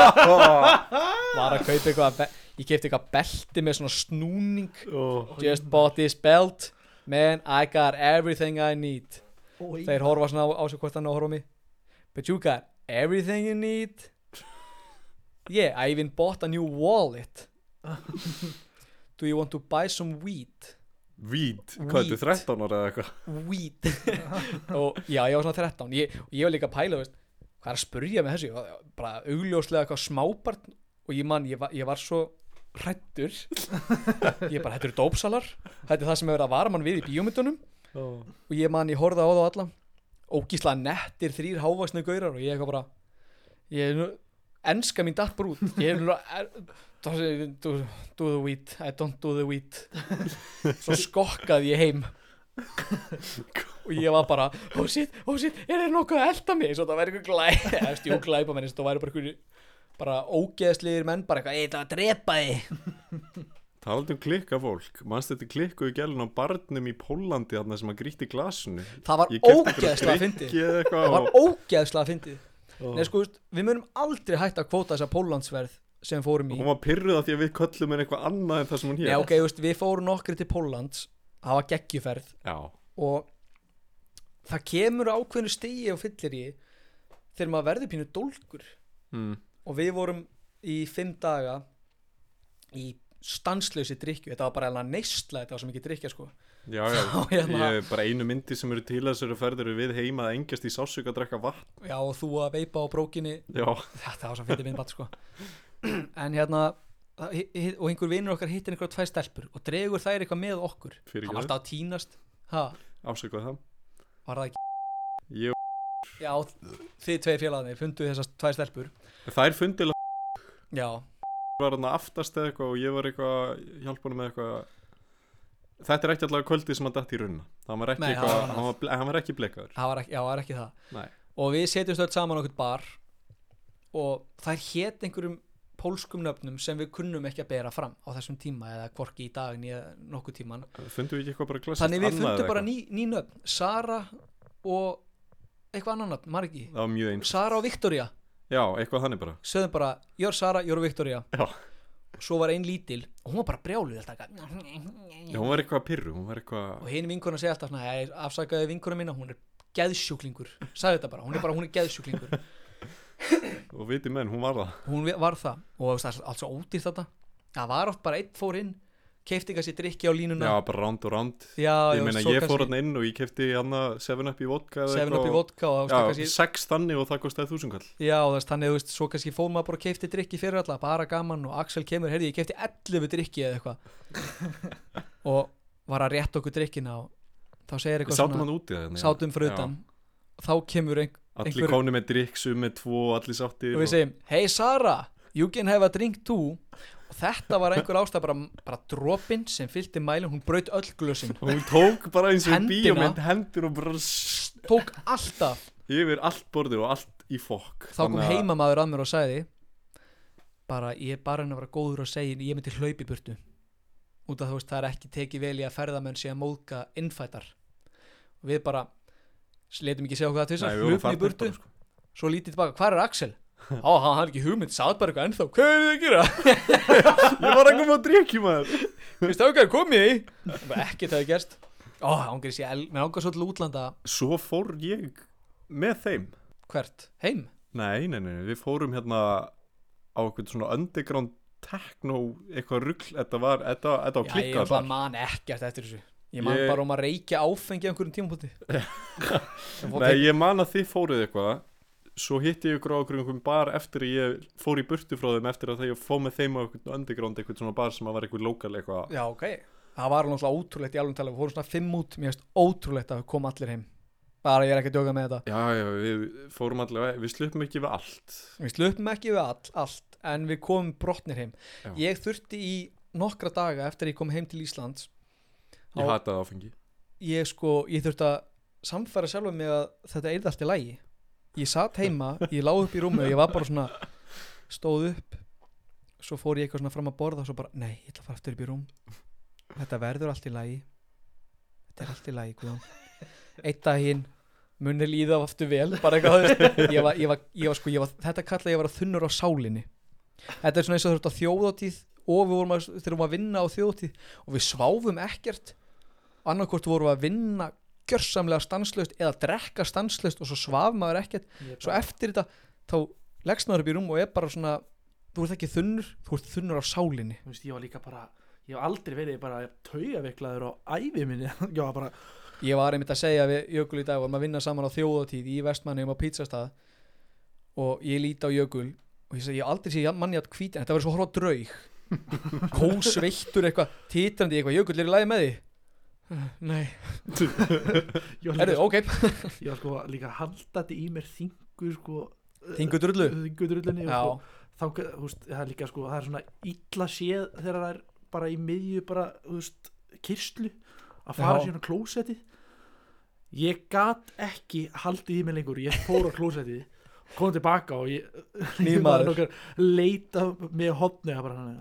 Speaker 4: Var að kaupa eitthvað, ég keypti eitthvað belti með svona snúning. Just bought this belt. Man, I got everything I need. Þeir horfa svona á sig hvort hann horfa á mig. But you got everything you need. Yeah, I even bought a new wallet. Do you want to buy some weed?
Speaker 2: Weed? Hvað, þetta er 13 ára eða eitthvað?
Speaker 4: Weed. Og já, ég var svona 13. Ég var líka að pæla, veist, hvað er að spurja með þessu? Ég var bara augljóslega eitthvað smábarn. Og ég var svo hræddur. Ég bara, þetta eru dópsalar. Þetta er það sem hefur verið að vara mann við í bíómyndunum. Og ég horfði á það alla. Ógíslega nettir 3 hávaxnu gaurar. Og ég eitthvað bara, enska mín datt bara út. Ég do the weed, I don't do the weed. Svo skokkaði ég heim. Og ég var bara, oh shit, er það nokkuð að elda mig? Svo það væri eitthvað glæpa menn. Það væri bara ógeðslegir menn, bara eitthvað, það var að drepa þig.
Speaker 2: Talandi klikka fólk, manstu þetta klikkuðu gælun á barnum í Pólandi þarna sem að grýtti glasinu?
Speaker 4: Það var ógeðslega fyndið. Það var ógeðslega fyndið. Nei, sko, við munum aldrei hægt að kvóta þessa Póllandsverð sem við fórum í.
Speaker 2: Hún var pirruð af því að við köllum henni eitthvað annað en það sem hún hér.
Speaker 4: Nei, ok, við fórum nokkri til Póllands, það var geggjuferð.
Speaker 2: Já. Og
Speaker 4: það kemur ákveðnu stigi og fyllir í þegar maður verður pínu dólgur. Og við vorum í 5 daga í stanslausi drykkju. Þetta var bara alveg neysla, þetta var svo mikið drykkja, sko.
Speaker 2: Já, ég bara einu myndi sem eru til þessari ferð eru við heima að engjast í sársauka að drekka vatn. Já,
Speaker 4: og þú að veipa á brókinni.
Speaker 2: Já.
Speaker 4: Þetta var svo fyndið myndband, sko. En og einhver vinur okkar hittir einhverja 2 stelpur og dregur þær eitthvað með okkur. Hann var alltaf að tínast.
Speaker 2: Ásakaði það.
Speaker 4: Var það ekki? Já, þið 2 félagarnir fundu þessar 2 stelpur.
Speaker 2: Þær fundu
Speaker 4: Já.
Speaker 2: Var hann aftast eða eitthvað og ég var eitthvað hjálpa hann með eitthvað. Þetta er ekki allavega kvöldið sem hann datt í runna. Hann var ekki blekaður. Það
Speaker 4: var ekki það.
Speaker 2: Nei.
Speaker 4: Og við setjumst öll saman okkur bar og þær hét einhverjum pólskum nöfnum sem við kunnum ekki að bera fram á þessum tíma eða hvorki í dag nýja nokkuð tíman.
Speaker 2: Fundum við ekki eitthvað bara klassist
Speaker 4: annað? Þannig við fundum bara ný nöfn. Sara og eitthvað annan nöfn, margi.
Speaker 2: Það var mjög eins.
Speaker 4: Sara og Victoria.
Speaker 2: Já, eitthvað þannig bara.
Speaker 4: Sögðum bara, you're Sara, you're Victoria.
Speaker 2: Já.
Speaker 4: Svo var ein lítil og hún var bara brjáluð alltaf.
Speaker 2: Já, hún var eitthvað pirru,
Speaker 4: og hinn vinkona segi alltaf svona, afsakaði vinkona mína, hún er geðsjúklingur. Sagði þetta bara, hún er geðsjúklingur.
Speaker 2: Og viti menn, hún var það.
Speaker 4: Hún var það og það er allt svo ódýrt þetta. Það var oft bara einn fór inn, keypti kannski drykki á línuna.
Speaker 2: Já, bara ránd og ránd.
Speaker 4: Já,
Speaker 2: ég meina, ég fór hann inn og ég keypti hann 7up í vodka.
Speaker 4: 7up í vodka og
Speaker 2: já, kannski 6 þannig og það kostaði 1000 kall.
Speaker 4: Já, þannig, þú veist, svo kannski fór maður bara og keypti drykki fyrir alla, bara gaman og Axel kemur, heyrði, ég keypti 11 drykki eða eitthvað. Og var að rétta okkur drykkina og þá segir eitthvað
Speaker 2: svona. Sátum hann úti það.
Speaker 4: Sátum fyrir utan. Þá kemur
Speaker 2: allir kóni með drykk, með 2 og allir sáttir.
Speaker 4: Og við segjum, hey Sara, you can have a drink too. Og þetta var einhver ástæð bara dropinn sem fyllti mælinn, hún braut öll glösin.
Speaker 2: Hún tók bara eins og bíómynd hendur og bara
Speaker 4: tók alltaf
Speaker 2: yfir allt borðið og allt í fokk.
Speaker 4: Þá kom heimamaður að mér og sagði bara, ég er bara að vera góður og segja ég myndi hlaupa í burtu út af þú veist, það er ekki tekið vel í að ferðamenn sé að móðga innfætar. Og við bara letum ekki segja okkur það til þess að hlupum í burtu sko. Svo lítið tilbaka, hvar er Axel? Hann hafði ekki hugmynd, sagði bara eitthvað ennþá. Hvað er þið að gera?
Speaker 2: Ég var að koma að drikki maður.
Speaker 4: Þú veist ákveð, komið í? Ekkert hefði gerst. Ángriðs ég, mér ángriðs svo til útlanda.
Speaker 2: Svo fór ég með þeim.
Speaker 4: Hvert? Heim?
Speaker 2: Nei, við fórum hérna á eitthvað svona underground techno, eitthvað rugl. Þetta var klikkað.
Speaker 4: Ég bara man ekkert eftir þessu. Ég man bara að reykja áfengi á einhverjum tímapunkti.
Speaker 2: Nei, ég man að þið fóruð eitthvað. Svo hitti ég ykkur á einhverjum bar eftir að ég fór í burtu frá þeim eftir að ég fóð með þeim á eitthvað underground, eitthvað svona bar sem var eitthvað lokal eitthvað. Já,
Speaker 4: ok. Það var alveg ótrúlegt í alveg tala. Við fórum svona 5 út, mér finnst ótrúlegt að koma allir heim. Bara ég er ekki að djóka með þetta.
Speaker 2: Já, við fórum allir, við sluppum ekki við allt.
Speaker 4: Við sluppum ekki við allt, en við komum brotnir heim. Já. Ég þurfti í nokkra daga eftir að ég kom heim til Íslands.
Speaker 2: Ég hataði áfengi.
Speaker 4: Ég þurfti að samfæra sjálfum mig að þetta yrði allt í lagi. Ég satt heima, ég lá upp í rúmi og ég var bara svona, stóð upp, svo fór ég eitthvað svona fram að borða og svo bara, nei, ég ætla að fara aftur upp í rúm. Þetta verður allt í lagi. þetta allt í lagi, Guðjón. Einn daginn muni líða aftur vel, bara eitthvað, ég var þetta kalla ég var að þunnur á sálinni. Þetta er svona eins og þú ert á þjóðhátíð og við þurfum að vinna á þjóðhátíð og við sváfum ekkert, annarkvort vorum við að vinna gjörsamlega stanslaust eða drekka stanslaust og svo svaf maður ekkert, svo eftir þetta þá leggst maður upp í rúm og er bara svona, þú ert ekki þunnur, þú ert þunnur á sálinni.
Speaker 3: Þú veist, ég var líka bara, ég hef aldrei verið bara taugaveiklaður á ævi minni.
Speaker 4: Ég var einmitt að segja við Jökul í dag, vorum að vinna saman á þjóðhátíð í Vestmannaeyjum á pítsastað og ég líti á Jökul og ég segi, ég aldrei sé manni að hvíti, en þetta var svo horfa á draug, kósveittur eitthvað, titrandi eitthvað, Jökull í lagi með því? Nei. Erðu, ok.
Speaker 3: Ég var sko líka haldandi í mér
Speaker 4: Þingudrullu?
Speaker 3: Já. Þá, þú veist, það er líka sko, það er svona illa séð þegar það er bara í miðju bara, þú veist, kyrstlu að fara síðan á klósettið. Ég gat ekki haldið í mig lengur, ég fór á klósettið, kom tilbaka og ég leita með hotni að bara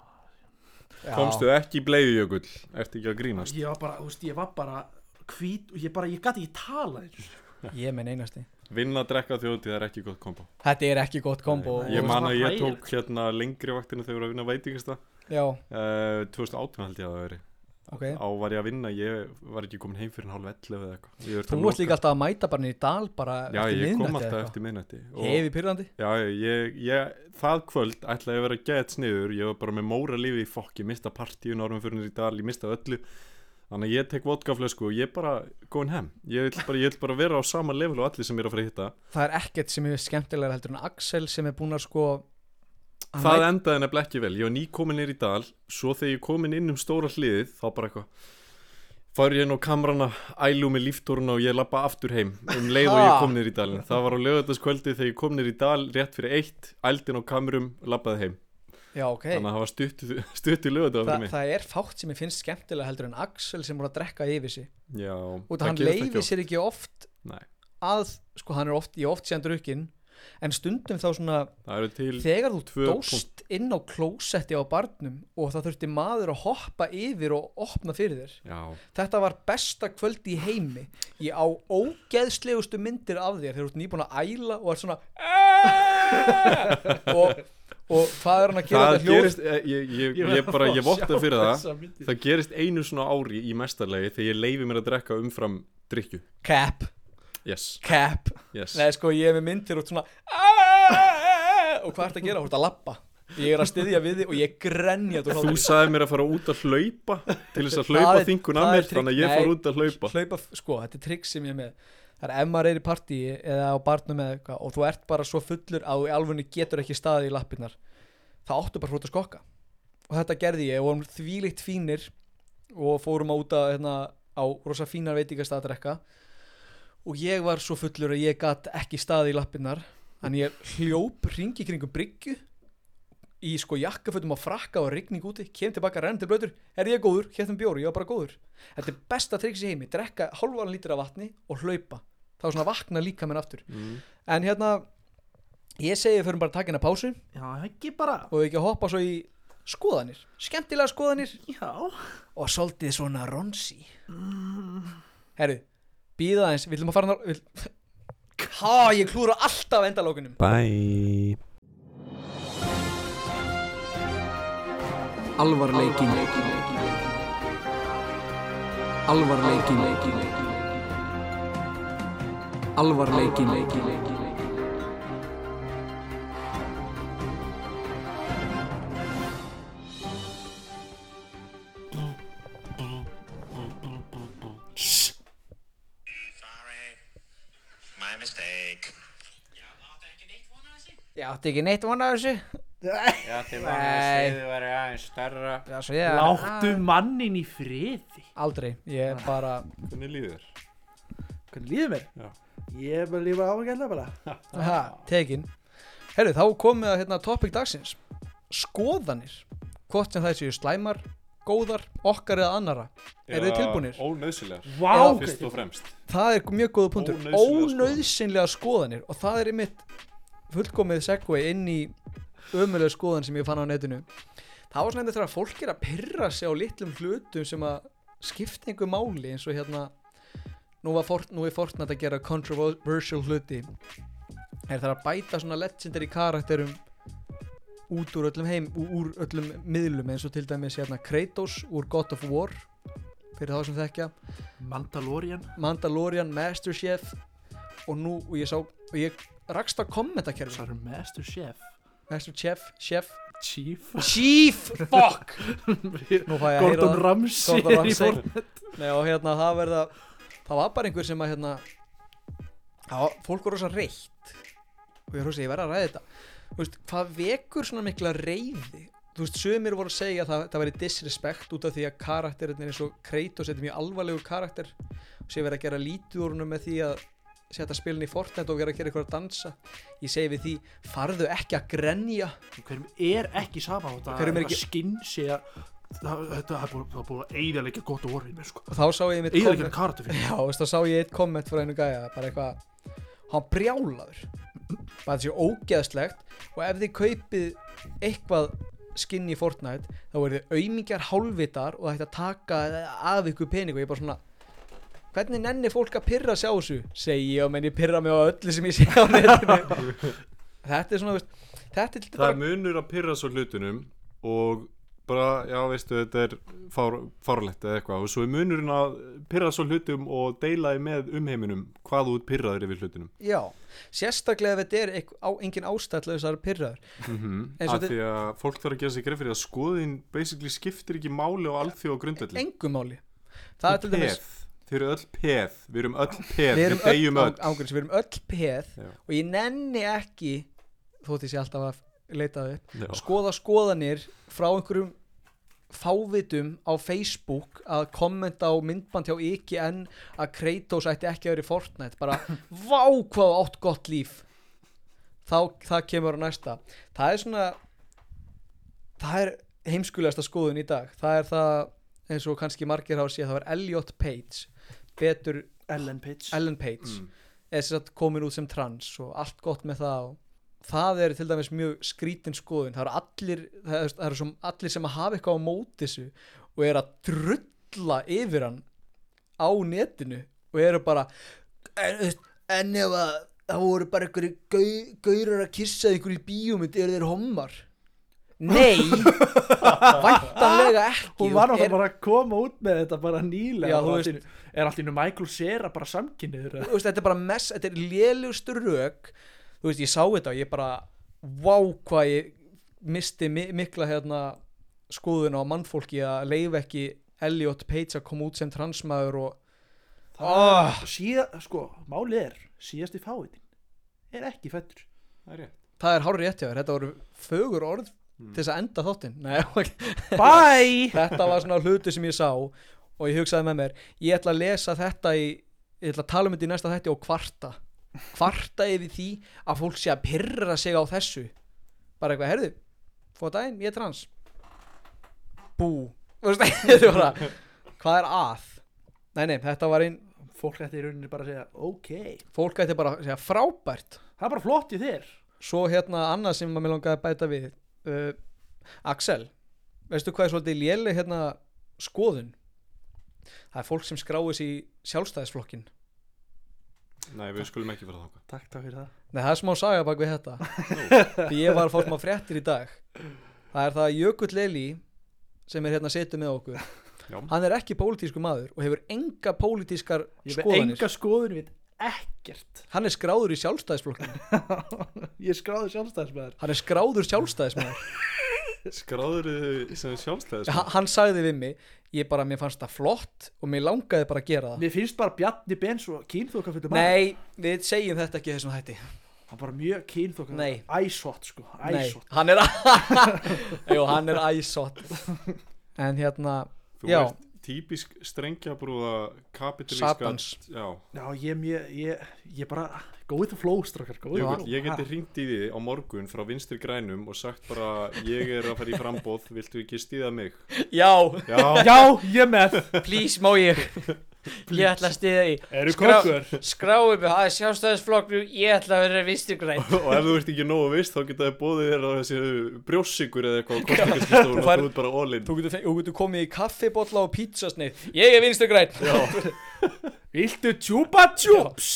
Speaker 2: Komstu ekki í bleiðu, Jökull? Ertu ekki að grínast?
Speaker 3: Ég var bara, þú veist, ég var bara hvít og ég gat ekki talað.
Speaker 4: Ég menn einasti.
Speaker 2: Vinna að drekka þjóðhátíð, það er ekki gott kombo.
Speaker 4: Þetta er ekki gott kombo.
Speaker 2: Ég man að ég tók hérna lengri vaktina þegar ég var að vinna veitingasta.
Speaker 4: Já.
Speaker 2: 2018 held ég að það veri.
Speaker 4: Okay.
Speaker 2: Á var ég að vinna, ég var ekki komin heim fyrir 10:30 eða eitthvað.
Speaker 4: Þú varst líka alltaf að mæta bara niður í dal bara eftir miðnætti.
Speaker 2: Já, ég kom alltaf eftir miðnætti.
Speaker 4: Hefi pyrrandi?
Speaker 2: Já, það kvöld ætlaði að vera gett sniður, ég var bara með móra lífi í fokk, ég mista partíun árum fyrir niður í dal, ég mista öllu. Þannig að ég tek vodkaflösku og ég bara góðin heim. Ég vil bara vera á sama level og allir sem er að fara að hitta.
Speaker 4: Það er ekkert sem er skemmtilegra heldur en Axel sem er búin að sko
Speaker 2: Það endaði nefnilega ekki vel. Ég var nýkomin niður í dal, svo þegar ég komin inn stóra hliðið, þá bara eitthvað fór ég inn á kamrana, ælu með líftóruna og ég labba aftur heim leið og ég kom niður í dalinn. Það var á laugardagskvöldið þegar ég kom niður í dal rétt fyrir 1, ældi inn á kamrum, labbaði heim.
Speaker 4: Já, ok.
Speaker 2: Þannig að það var stutt í laugardag fyrir mig.
Speaker 4: Það er fátt sem ég finnst skemmtilega heldur en Axel sem voru að drekka yfir sig.
Speaker 2: Já.
Speaker 4: Og hann leyfir sér ekki oft
Speaker 2: Nei.
Speaker 4: Að, sko hann er oft síðan drukkinn, en stundum þá svona þegar þú dóst inn á klósetti á barnum og það þurfti maður að hoppa yfir og opna fyrir þér.
Speaker 2: Já.
Speaker 4: Þetta var besta kvöldi í heimi. Ég á ógeðslegustu myndir af þér þegar þú ert nýbúin að æla og er svona og hvað er hann að gera þetta hljóð?
Speaker 2: Ég votta fyrir það gerist einu svona ári í mestarlegi þegar ég leyfi mér að drekka umfram drykju.
Speaker 4: Cap.
Speaker 2: Yes.
Speaker 4: Cap.
Speaker 2: Yes.
Speaker 4: Nei, sko, ég er með myndir og svona og hvað ert að gera? Þú ert að labba. Ég er að styðja við þig og ég grenja.
Speaker 2: Þú sagði mér að fara út að hlaupa til þess að hlaupa þingun að mér, þannig að ég fór út að hlaupa.
Speaker 4: Sko, þetta er trikk sem ég er með. Það er ef maður er í partíi eða á barnum eða eitthvað og þú ert bara svo fullur að þú í alvörunni getur ekki staðið í lappirnar, það áttu bara út að skokka. Og þetta gerði ég og vorum þvílíkt fínir og fórum út að, á rosa fínar veitingastað að drekka og ég var svo fullur að ég gat ekki staðið í lappirnar, þannig ég hljóp hringi kringum bryggju í sko jakkafötum á frakka og rigning úti, kem tilbaka rennandi blötur, er ég góður, hérna bjóri, ég var bara góður. Þetta er besta triks í heimi, drekka hálfan lítra af vatni og hlaupa, þá svona vakna líka menn aftur. En ég segi fyrir bara að taka hérna pásu.
Speaker 3: Já, ekki bara.
Speaker 4: Og við ekki að hoppa svo í skoðanir, skemmtilega skoðanir.
Speaker 3: Já.
Speaker 4: Og svolítið svona ronsi. Herru, bíða aðeins, við ætlum að fara ég klúra alltaf endalókunum.
Speaker 2: Bye.
Speaker 1: Alvarleikin.
Speaker 4: Ég átti ekki neitt von af þessu.
Speaker 2: Ég átti von að sviðið væri aðeins stærra.
Speaker 3: Láttu mannin í friði.
Speaker 4: Aldrei, ég bara.
Speaker 2: Hvernig líður þér?
Speaker 3: Hvernig líður mér?
Speaker 2: Já.
Speaker 3: Ég er bara lífa ágætlega bara.
Speaker 4: Aha, tekin. Herru, þá komið að topic dagsins. Skoðanir. Hvort sem það séu slæmar, góðar, okkar eða annara. Eru þið tilbúnir?
Speaker 2: Ónauðsynlegar.
Speaker 3: Vá.
Speaker 2: Fyrst og fremst.
Speaker 4: Það er mjög góða punktur. Ónauðsynlega skoðanir. Og það er einmitt fullkomið segway inn í ömulega skoðan sem ég fann á netinu. Það var svona þegar fólk er að pirra sig á litlum hlutum sem að skipti einhver máli eins og hérna nú er Fortnite að gera controversial hluti það að bæta svona legendary karakterum út úr öllum miðlum eins og til dæmis hérna Kratos úr God of War fyrir þá sem þekkja Mandalorian, Master Chef og ég rakst á kommentakerfi
Speaker 3: Það er Master Chef
Speaker 4: Chief, fuck nú fæ ég að heyra
Speaker 3: Gordon Ramsay í Fortnite.
Speaker 4: Nei, og hérna það var bara einhver sem að hérna fólk var rosa reitt og ég verð að ræða þetta þú veist, hvað vekur svona mikla reiði þú veist, sumir voru að segja að það væri disrespect út af því að karakterinir eins og Kratos er mjög alvarlegur karakter og sé verið að gera lítið úr húnum með því að setja spilin í Fortnite og vera að gera eitthvað að dansa ég segi við því, farðu ekki að grenja
Speaker 3: Hverjum er ekki sama á þetta
Speaker 4: Hverjum er ekki
Speaker 3: skinn sé að það er búið að eyðileggja gott og orðið mér sko
Speaker 4: og þá sá ég mitt
Speaker 3: eyðileggja karakter fyrir
Speaker 4: já, veist, þá sá ég eitt komment frá einu gæja bara eitthvað, hann brjálaður bara þetta sé ógeðslegt og ef þið kaupið eitthvað skinn í Fortnite þá eru þið aumingjar hálfvitar og það ætti að taka af ykkur pening og ég bara svona hvernig nenni fólk að pirra sig á þessu segi ég og menn ég pirra mig á öllu sem ég sé á netinu þetta er svona veist, þetta er
Speaker 2: það er munur að pirra svo hlutunum og bara, já veistu, þetta er fárlegt eða eitthvað og svo er munurinn að pirra svo hlutum og deila þið með umheiminum hvað þú ert pirraður yfir hlutunum
Speaker 4: já, sérstaklega ef þetta er engin ástæðlausar pirraður
Speaker 2: af því að fólk þarf að gera sig greið fyrir að skoðin basically skiptir ekki máli á alþjóð grundvelli
Speaker 4: engum máli það er til dæmis
Speaker 2: Þið eru öll peð, við erum öll peð, við deyjum öll
Speaker 4: ángurins, við erum öll peð og ég nenni ekki þótt ég sé alltaf að leita upp skoðanir frá einhverjum fávitum á Facebook að kommenta á myndband hjá IGN að Kratos ætti ekki að vera í Fortnite bara, vá hvað átt gott líf það kemur á næsta það er svona það er heimskulegasta skoðun í dag það er það eins og kannski margir hafa séð það var Elliot Page betur
Speaker 3: Ellen Page
Speaker 4: er þess að komin út sem trans og allt gott með það og það er til dæmis mjög skrítin skoðun það eru svo allir sem að hafa eitthvað á móti þessu og er að drulla yfir hann á netinu og eru bara en ef að það voru bara einhverju gaurar að kissa einhverju í bíómynd eru þeir hommar nei væntanlega ekki
Speaker 3: hún var náttúrulega bara að koma út með þetta bara nýlega
Speaker 4: já, veist,
Speaker 3: er allt í Michael Cera bara samkynniður
Speaker 4: þetta er bara þetta er lélugstur rök þú veist ég sá þetta og ég bara vá hvað ég misti mikla hérna skoðun á mannfólki að leyfa ekki Elliot Page að koma út sem transmaður og
Speaker 3: sko málið er síðasti fáiðin er ekki fættur
Speaker 4: það er hárrétt hjá þér þetta voru fögur orð til þess að enda þáttinn
Speaker 3: bye
Speaker 4: þetta var svona hluti sem ég sá og ég hugsaði með mér ég ætla að lesa þetta ég ætla að tala um þetta í næsta þætti og kvarta yfir því að fólk sé að pirra sig á þessu bara eitthvað, heyrðu fóða daginn, ég er trans bú hvað er að nei, þetta var einn
Speaker 3: fólk ætti í rauninni bara að segja ok
Speaker 4: fólk ætti bara að segja frábært
Speaker 3: það er bara flott í þér
Speaker 4: svo hérna annað sem maður langaði að bæta við Axel veistu hvað er svolítið léleg hérna skoðun það er fólk sem skráir sig í sjálfstæðisflokkin
Speaker 2: nei við skulum ekki vera þangað
Speaker 3: takk fyrir það
Speaker 4: nei það er smá saga bak við þetta því ég var að fá smá fréttir í dag það er það Jökull Eli sem er hérna setur með okkur
Speaker 2: já.
Speaker 4: Hann er ekki pólitískur maður og hefur enga pólitískar skoðanir
Speaker 3: enga skoðun við ekkert
Speaker 4: hann er skráður í sjálfstæðisflokkin
Speaker 3: ég er skráður sjálfstæðismæður
Speaker 4: hann er skráður sjálfstæðismæður
Speaker 2: skráður sem sjálfstæðismæður
Speaker 4: hann sagði við mig mér fannst það flott og mér langaði bara að gera það
Speaker 3: mér finnst bara Bjarni Ben svo kynþokkafullur
Speaker 4: nei, við segjum þetta ekki þessum hætti
Speaker 3: hann bara mjög kynþokkafullur æsott sko æsott
Speaker 4: hann er æsott en hérna
Speaker 2: þú ert típisk strengjabrúða kapitalíska
Speaker 4: Satans
Speaker 3: já ég bara Go with the flow, strákar, go with the flow.
Speaker 2: Ég geti hringt í því á morgun frá Vinstri grænum og sagt bara ég að fara í frambóð, viltu ekki stíða mig?
Speaker 4: Já,
Speaker 3: Já, ég með.
Speaker 4: please má ég ætla að stiða í
Speaker 3: Eru kokkur?
Speaker 4: skráum mig, það sjálfstæðisflokknum, ég ætla að vera Vinstri græn.
Speaker 2: Og ef þú ert ekki nógu viss þá geta þið bóðið þér á þessi brjóssykur eða eitthvað á kostingaskristofunum og þú ert bara all in.
Speaker 4: Þú getur komið í kaffibolla og pítsasneið, ég er Vinstri græn.
Speaker 3: Viltu Chupa Chups?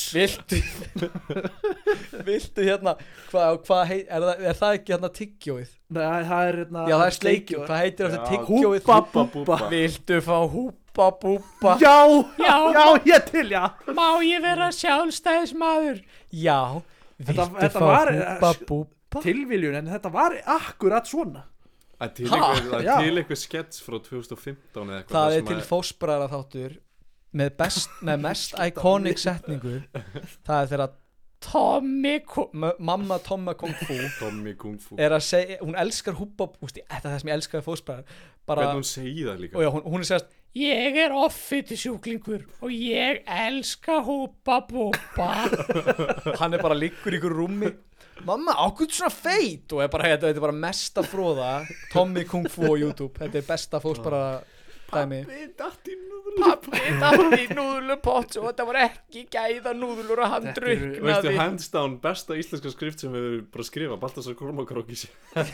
Speaker 4: Viltu hérna, er það ekki hérna tyggjóið?
Speaker 3: Nei, það er hérna.
Speaker 4: Já, það er sleikjó, hvað heitir þetta
Speaker 2: Já,
Speaker 4: tyggjóið?
Speaker 3: Húpa Búba.
Speaker 4: Viltu fá húpa búba?
Speaker 3: Já, ég til, já.
Speaker 4: Má ég vera sjálfstæðismadur? Já, viltu
Speaker 3: Þetta
Speaker 4: fá
Speaker 3: var,
Speaker 4: húpa búba?
Speaker 3: Tilviljun, en þetta var akkurat svona.
Speaker 2: Það er
Speaker 3: Já.
Speaker 2: til eitthvað skets frá 2015 eða eitthvað.
Speaker 4: Það
Speaker 2: þar
Speaker 4: er
Speaker 2: sem
Speaker 4: til fósbræðra þáttur með mest iconic setningu. Það er þegar mamma Tomma Kung Fu
Speaker 2: Tommy Kung Fu.
Speaker 4: er að segja, hún elskar húpa, þetta er það sem ég elskar fósbræðar.
Speaker 2: Hvernig hún segi það líka?
Speaker 4: Og já, hún er segast, ég er offiti sjúklingur og ég elska húpa búpa. Hann er bara liggur í ykkur rúmi, mamma, ákveð svona feit, og þetta er bara mesta fróða Tommy Kung Fu á YouTube. Þetta er besta fósbræðara dæmi. Pappi datt í núðlupott og þetta var ekki gæða núðlur og hann
Speaker 2: Veistu,
Speaker 4: druknaði.
Speaker 2: hands down, besta íslenska skrift sem við bara skrifa, Baltasar Kormákrók í sig.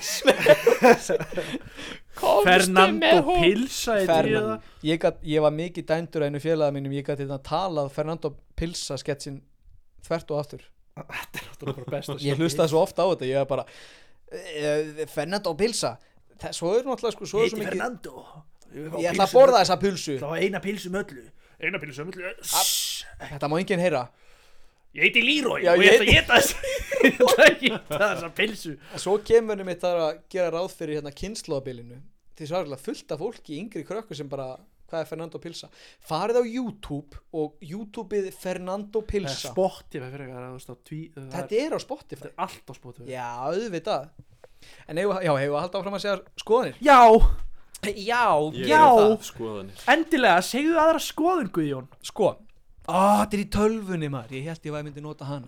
Speaker 3: Fernando Pilsa
Speaker 4: Ég var mikið dændur að einu félaga mínum, ég gæti þetta talað Fernando Pilsa sketsin þvert og aftur.
Speaker 3: Þetta er bara besta.
Speaker 4: Ég hlustaði svo ofta á þetta, ég var bara Fernando Pilsa, svo er náttúrulega sko, svo er svo mikið
Speaker 3: Fernando.
Speaker 4: Ég ætla að borða þessa pulsu.
Speaker 3: Það var eina pilsu með öllu. Eina pilsu með öllu.
Speaker 4: Þetta má enginn heyra.
Speaker 3: Ég heiti Leroy
Speaker 4: Já,
Speaker 3: og ég ætla að geta þessa pilsu.
Speaker 4: Svo kemur mitt það að gera ráð fyrir hérna kynnslóðabilinu. Því svarlega fullt af fólki, yngri krökkur sem bara, hvað er Fernando Pilsa? Farið á YouTube og YouTubeið Fernando Pilsa.
Speaker 3: Spotify fyrir eitthvað.
Speaker 4: Þetta er á Spotify.
Speaker 3: Þetta er allt á Spotify.
Speaker 4: Já, auðvitað. En hefur að halda áfram að segja skoðanir?
Speaker 3: Já,
Speaker 2: Ég
Speaker 3: Já.
Speaker 2: er það, skoðanir.
Speaker 3: endilega, segðu aðra skoðun, Guðjón.
Speaker 4: Sko. Þetta er í tölvunni maður. Ég held ég myndi nota hana.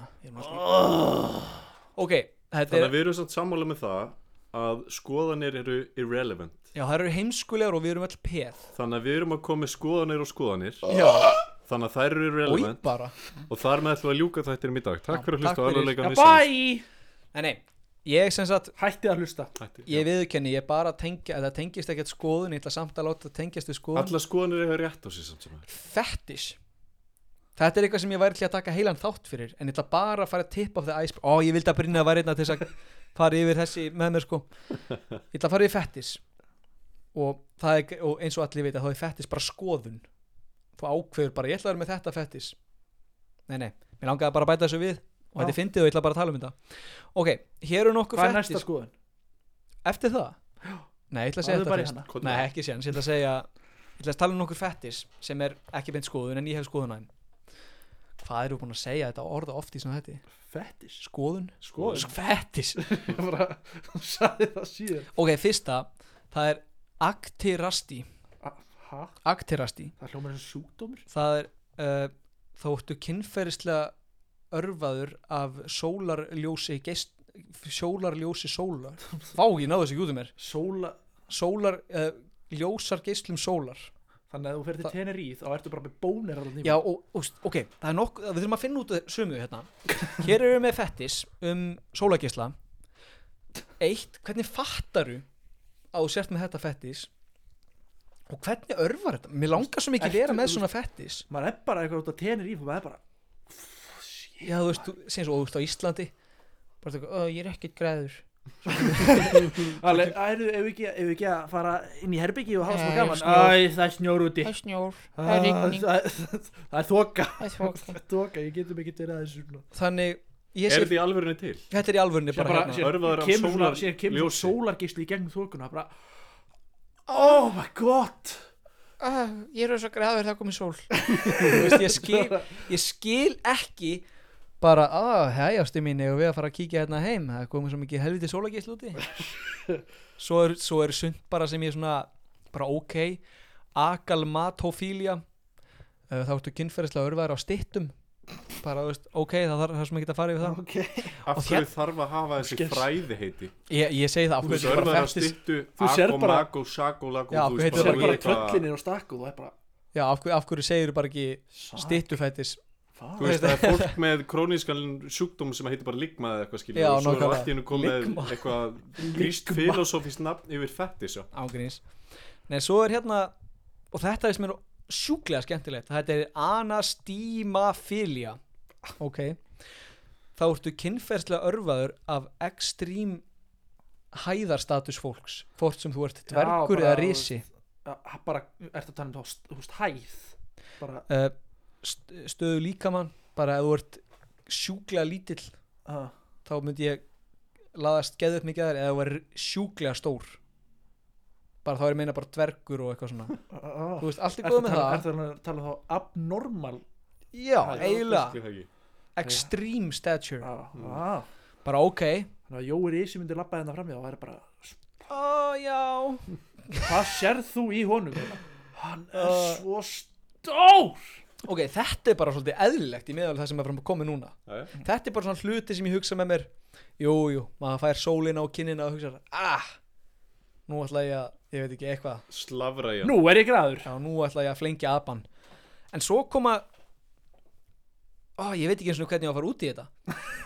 Speaker 4: Ok, þetta
Speaker 2: Þannig að við erum samt sammála með það að skoðanir eru irrelevant.
Speaker 4: Já, það eru heimskulegar og við erum öll peð.
Speaker 2: Þannig að við erum að koma með skoðanir og skoðanir.
Speaker 4: Já.
Speaker 2: Þannig að þær eru irrelevant.
Speaker 4: Bara.
Speaker 2: Og þar með ætlum við að ljúka þættinum í dag. Takk fyrir að hlusta á
Speaker 4: takk fyrir.
Speaker 2: alvarleikann við
Speaker 3: Bye.
Speaker 4: Nei, ég sem sagt,
Speaker 3: Hætti að hlusta.
Speaker 4: ég viðurkenni, ég bara þetta tengist ekkert skoðun, ég ætla samt að láta það tengjast við skoðun.
Speaker 2: Alla skoðanir eru rétt á sig samt sem er.
Speaker 4: Fetish. Þetta er eitthvað sem ég væri til að taka heilan þátt fyrir, en ég ætla bara að fara að tip of the iceberg. Ég vildi að Brynja væri einna til þess að fara yfir þessi með mér sko. Ég ætla að fara yfir fetish. Og eins og allir vita, þá er fetish bara skoðun. Þú ákveður bara, ég ætla að vera með þetta fetish. Nei, mér langaði bara að bæta þessu við. Og þetta er fyndið og ég ætla bara að tala um þetta. Ok, hér eru nokkuð
Speaker 3: Hvað er
Speaker 4: fetish.
Speaker 3: næsta skoðun?
Speaker 4: Eftir það? Nei, ég ætla að segja
Speaker 3: Farðu bara í
Speaker 4: þetta
Speaker 3: hana.
Speaker 4: fyrst. Nei, ekki séns, ég ætla að tala um nokkur fetish sem er ekki beint skoðun en ég hef skoðun á þeim. Hvað eru búin að segja þetta orða oft í svona þetta?
Speaker 3: Fetish.
Speaker 4: Skoðun?
Speaker 2: Skoðun.
Speaker 4: Fetish.
Speaker 3: Ég bara sagði það síðan.
Speaker 4: Ok, fyrsta, það er aktirasti.
Speaker 3: Hæ?
Speaker 4: Aktirasti.
Speaker 3: Það hljómar eins og sjúkdómur.
Speaker 4: Það er þóttu kynferðislega örvaður af sólarljósi sólar. Vá, ég náðu þessu ekki út um mér. Ljósar geislum sólar.
Speaker 3: Þannig að þú fer til Tenerife þá ertu bara með bónir alveg
Speaker 4: Já, ok, það er nokkuð, við þurfum að finna út sömu hérna. Hér erum við með fetish sólargeisla. 1, hvernig fattaru að þú sért með þetta fetish? Og hvernig örvar þetta? Mér langar svo mikið vera með svona fetish.
Speaker 3: Maður er bara eitthvað út á Tenerife og maður er bara
Speaker 4: Já, þú veist, segjum svo, þú veist á Íslandi bara það, ég er ekkert græður.
Speaker 3: Alveg, ef við ekki að fara inn í herbyggi og hafa svona gaman. Það er snjór úti.
Speaker 4: Það er snjór, það er rigning.
Speaker 3: Það er þoka.
Speaker 4: Það er
Speaker 3: þoka, ég getum ekki verið að þessu.
Speaker 4: Þannig,
Speaker 2: Er þetta í alvörunni til?
Speaker 4: Þetta er í alvörunni bara hérna.
Speaker 2: Örvaður af
Speaker 3: Sér kemur
Speaker 2: sólarljósi.
Speaker 3: sólargeisli í gegnum þokuna. Bara, oh my god.
Speaker 4: Ég er svo græður, það komið sól. Þú veist, ég skil ekki bara, hæjastu mín og við að fara að kíkja hérna heim, það komið svo mikið helviti sólargeisli úti. Svo er sund bara sem ég svona bara ok, agalmatofília, þá ertu kynferðislega örvaður á styttum, bara, þú veist, ok, það sem ekki að fara yfir það
Speaker 3: Ok.
Speaker 2: Af hverju þarf að hafa þessi
Speaker 3: Skils.
Speaker 2: fræði heiti?
Speaker 4: Ég segi það, af
Speaker 2: Þú
Speaker 4: hverju
Speaker 2: sörður
Speaker 4: bara
Speaker 2: að
Speaker 4: fettis
Speaker 2: styttu
Speaker 3: Þú sérð
Speaker 2: Ago,
Speaker 3: bara-
Speaker 2: Mago, Sago, Lago
Speaker 4: Já,
Speaker 2: þú
Speaker 4: hvað
Speaker 2: veist,
Speaker 4: heitir
Speaker 3: Það er bara
Speaker 2: eitthvað-
Speaker 3: tröllinir og stakku, það er bara
Speaker 4: Já, af hverju segir bara ekki styttufettis
Speaker 2: Þú veist, það er fólk með krónískan sjúkdóm sem heitir bara ligma eða eitthvað skilur
Speaker 4: Já,
Speaker 2: og svo er
Speaker 4: nákvæmlega.
Speaker 2: allt í hennu komið
Speaker 4: Ligma.
Speaker 2: eitthvað gríst filosófískt nafn yfir fettis já.
Speaker 4: ángríns. Nei, svo er hérna, og þetta er sem er sjúklega skemmtilegt, þetta er anastímafilia. Ok. Þá ertu kynferðslega örvaður af ekstrím hæðarstatus fólks, hvort sem þú ert dvergur eða risi.
Speaker 3: Bara, ertu að tala um þá, þú veist, hæð bara,
Speaker 4: Stöðu líkamann, bara ef þú ert sjúklega lítill, þá myndi ég laðast geðið mikið að þér, eða þú er sjúklega stór, bara þá er ég meina bara dvergur og eitthvað svona, þú veist, allt er góð með það.
Speaker 3: Ertu að tala um þá abnormal
Speaker 4: Já,
Speaker 3: Já,
Speaker 4: eiginlega,
Speaker 2: Skil það ekki.
Speaker 4: extreme stature,
Speaker 3: Þannig
Speaker 4: bara ok.
Speaker 3: að Jói Risi myndi labba hérna framjá og væri bara,
Speaker 4: Já,
Speaker 3: hvað sérð þú í honum? Hann er svo stór.
Speaker 4: ok, þetta er bara svolítið eðlilegt í meðal það sem er fram að koma núna.
Speaker 2: Jæja.
Speaker 4: Þetta er bara svona hluti sem ég hugsa með mér, jú, maður fær sólina á kinnina og hugsa, nú ætla ég að, ég veit ekki, eitthvað,
Speaker 2: Slavra já.
Speaker 3: Nú er ég graður.
Speaker 4: já, nú ætla ég að flengja apan. En svo koma, ég veit ekki eins og hvernig ég á að fara út í þetta.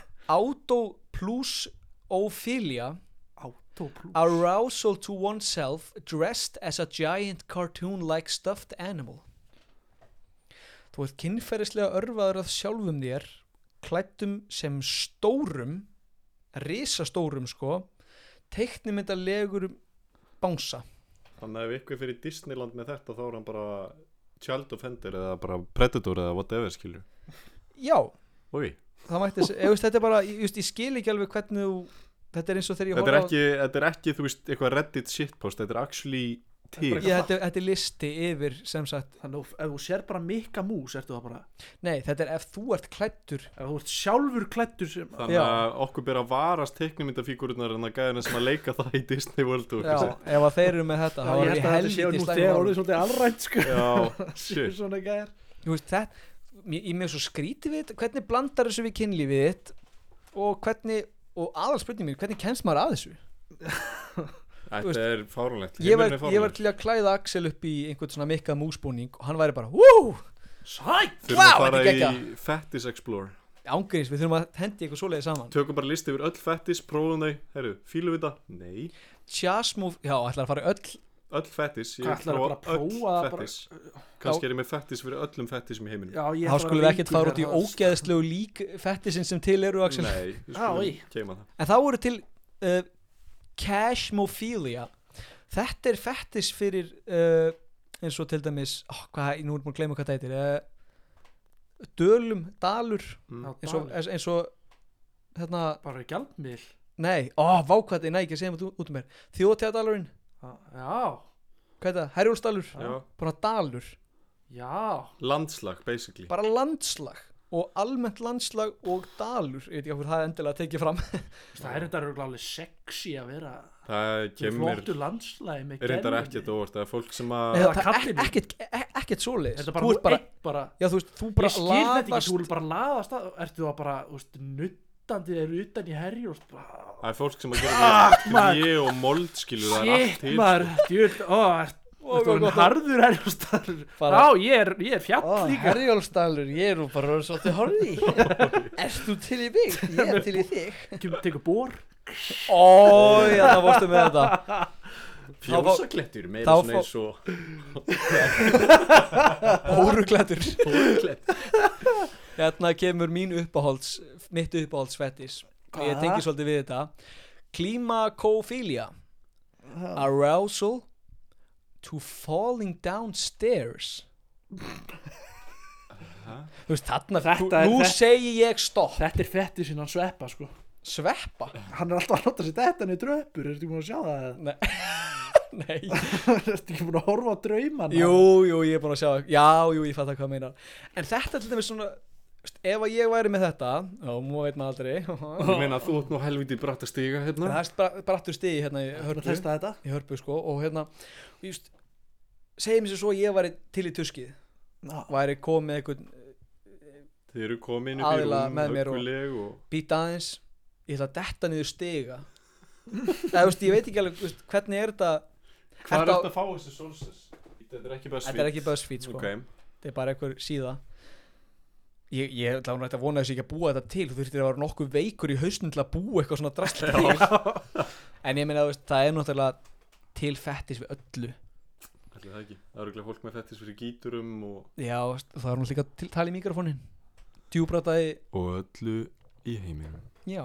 Speaker 4: Autoplusophilia, arousal to oneself dressed as a giant cartoon-like stuffed animal. Þú ert kynferðislega örvaður af sjálfum þér, klæddum sem stórum, risastórum sko, teiknimyndalegurum bánsa.
Speaker 2: Þannig að ef ykkur fyrir Disneyland með þetta þá er hann bara Child Offender eða bara Predator eða whatever skilur.
Speaker 4: Já,
Speaker 2: Úi,
Speaker 4: það mætti, þetta er bara, ég skil ekki alveg hvernig þú, þetta er eins og þegar ég
Speaker 2: þetta er ekki þú veist eitthvað Reddit shitpost, þetta er actually til.
Speaker 4: þetta er listi yfir sem sagt,
Speaker 3: Þannig að ef þú sér bara Mikka Mús ertu það bara,
Speaker 4: nei, þetta er ef þú ert klæddur,
Speaker 3: ef þú ert sjálfur klæddur sem
Speaker 2: Þannig
Speaker 4: Já.
Speaker 2: að okkur ber að varast teiknumyndafígururnar en að gæðina sem að leika það í Disney World og
Speaker 4: já, ef að þeir eru með þetta, þá
Speaker 3: ég
Speaker 4: er
Speaker 3: held
Speaker 4: ég
Speaker 3: að þetta sé
Speaker 4: helviti
Speaker 3: nú þegar orðið svolítið alrænt sko.
Speaker 2: Já,
Speaker 3: Séu
Speaker 2: shit.
Speaker 3: svona gæðar.
Speaker 4: Þú veist, þetta, ég með svo skrítið við þetta, hvernig blandar þessu við kynlífið þitt og hvernig, og aðalspurning mín, hvernig kemst maður að þessu?
Speaker 2: Þetta er fáránlegt.
Speaker 4: Ég
Speaker 2: Heimurinn er
Speaker 4: var
Speaker 2: fáránlegur.
Speaker 4: til að klæða Axel upp í einhvern svona Mikka Mús-búning og hann væri bara, wú,
Speaker 3: Sæt.
Speaker 2: Þurfum
Speaker 4: Vá,
Speaker 2: að fara
Speaker 4: þetta er
Speaker 2: í
Speaker 4: geggjað.
Speaker 2: Fettis Explore.
Speaker 4: ángríns, við þurfum að hendi eitthvað svoleiði saman.
Speaker 2: Tökum bara listi yfir öll fettis, prófum þau. Herru, fílum við það? Nei.
Speaker 4: Chasmove, já, ætlar að fara í öll,
Speaker 2: Öll fettis. Ég
Speaker 3: Hvað, ætlarðu bara að prófa
Speaker 2: öll
Speaker 3: það
Speaker 2: fettis. Kannski er ég með fettis fyrir öllum fettisum í heiminum.
Speaker 3: Já, ég
Speaker 4: þá
Speaker 3: ætla
Speaker 4: skulum
Speaker 3: að
Speaker 4: við ekkert
Speaker 3: lengur
Speaker 4: fara út í
Speaker 3: þegar það-
Speaker 4: ógeðslegu lík fettisinn sem til eru, Axel.
Speaker 2: Nei, við
Speaker 3: Já,
Speaker 2: skulum
Speaker 3: í.
Speaker 2: keima það.
Speaker 4: En þá eru til cashmophilia. Þetta er fettis fyrir eins og til dæmis, nú er búin að gleyma hvað það heitir, dalur,
Speaker 2: Mm.
Speaker 3: Já,
Speaker 4: eins og hérna,
Speaker 3: bara gjaldmiðl.
Speaker 4: nei, vákvæði, nei, ekki að segja út um mér, Þjóðtíðadalurinn,
Speaker 3: Já,
Speaker 4: hvað er það, Herjólfsdalur,
Speaker 2: Já.
Speaker 4: bara dalur,
Speaker 3: já.
Speaker 2: Landslag, basically.
Speaker 4: bara landslag og almennt landslag og dalur, ég veit ekki hvað það er endilega að tekið fram.
Speaker 3: Það er þetta alveg sexy að vera
Speaker 2: Það kemur,
Speaker 3: flottu landslægi með
Speaker 2: er reyndar
Speaker 3: gervi.
Speaker 2: ekkert óvart. Það er fólk sem að...
Speaker 3: Eða
Speaker 4: Það er
Speaker 3: kallinn.
Speaker 4: ekkert svoleiðis,
Speaker 3: Þetta er bara,
Speaker 4: þú ert bara,
Speaker 3: bara
Speaker 4: já þú veist, þú bara
Speaker 3: ég skil þetta ekki,
Speaker 4: laðast,
Speaker 3: þú vil bara laðast að, ertu það bara, þú veist, nuttandi er utan í herjólf,
Speaker 2: Það er fólk sem að
Speaker 3: Ah,
Speaker 2: gera
Speaker 3: maður.
Speaker 2: gré og mold skilur, það er allt
Speaker 3: shit
Speaker 2: til.
Speaker 3: maður, djúl, þetta var harður herjólfsdalur.
Speaker 4: Bara-
Speaker 3: Já, ég er fjall líka.
Speaker 4: Herjólfsdalur, ég er nú bara svolítið horfið í. Erst þú til í mig? Ég er til í þig.
Speaker 3: Tekur bor.
Speaker 4: Já, það vorstu með þetta.
Speaker 2: Fjósaklettur, meira
Speaker 4: þá
Speaker 2: svona eins og...
Speaker 4: Hóruklættur. Hérna kemur mitt uppáhaldsfettis. Og ég tengi svolítið við þetta. Klimakophilia. Arousal to falling downstairs. Þú veist, nú segi ég stopp.
Speaker 3: Þetta er fetti sinna sveppa, sko.
Speaker 4: Sveppa?
Speaker 3: Hann er alltaf að láta sér þetta niður dröpur, ertu ekki búin að sjá það?
Speaker 4: Nei.
Speaker 3: Ertu ekki búin að horfa á draumana?
Speaker 4: Jú, ég er búin að sjá. Já, ég fatt hvað meinar. En þetta til dæmis svona, ef að ég væri með þetta, nú veit maður aldrei.
Speaker 2: Ég meina að þú ert nú helviti bratt að stiga hérna.
Speaker 4: Það er brattur stigi hérna í Hörpu.
Speaker 3: Testa þetta?
Speaker 4: Í Hörpu, sko. Og hérna, just, segjum sér svo að ég væri til í tuskið. Væri komið einhvern
Speaker 2: Þið eru komin upp í
Speaker 4: aðila
Speaker 2: rúm,
Speaker 4: með mér og
Speaker 2: hugguleg og
Speaker 4: býta aðeins, ég ætla að detta niður stiga eða veist, ég veit ekki alveg veist, hvernig er þetta
Speaker 2: Hvað er
Speaker 4: Ertu á-
Speaker 2: þetta að fá þessi sources? Þetta er ekki bara
Speaker 4: þetta er ekki BuzzFeed sko.
Speaker 2: Ok,
Speaker 4: þetta er bara einhver síða ég ætla að vona þessi ekki að búa þetta til þú þurftir að vera nokkuð veikur í hausnum til að búa eitthvað svona drast til en ég meina veist, það er náttúrulega til fettis við öllu
Speaker 2: ætli það ekki. Það eru ekki fólk með fettis fyrir gíturum og
Speaker 4: já, veist, það er náttúrulega líka til tala í mikrofónin djúbrataði
Speaker 2: öllu í heiminum.
Speaker 4: já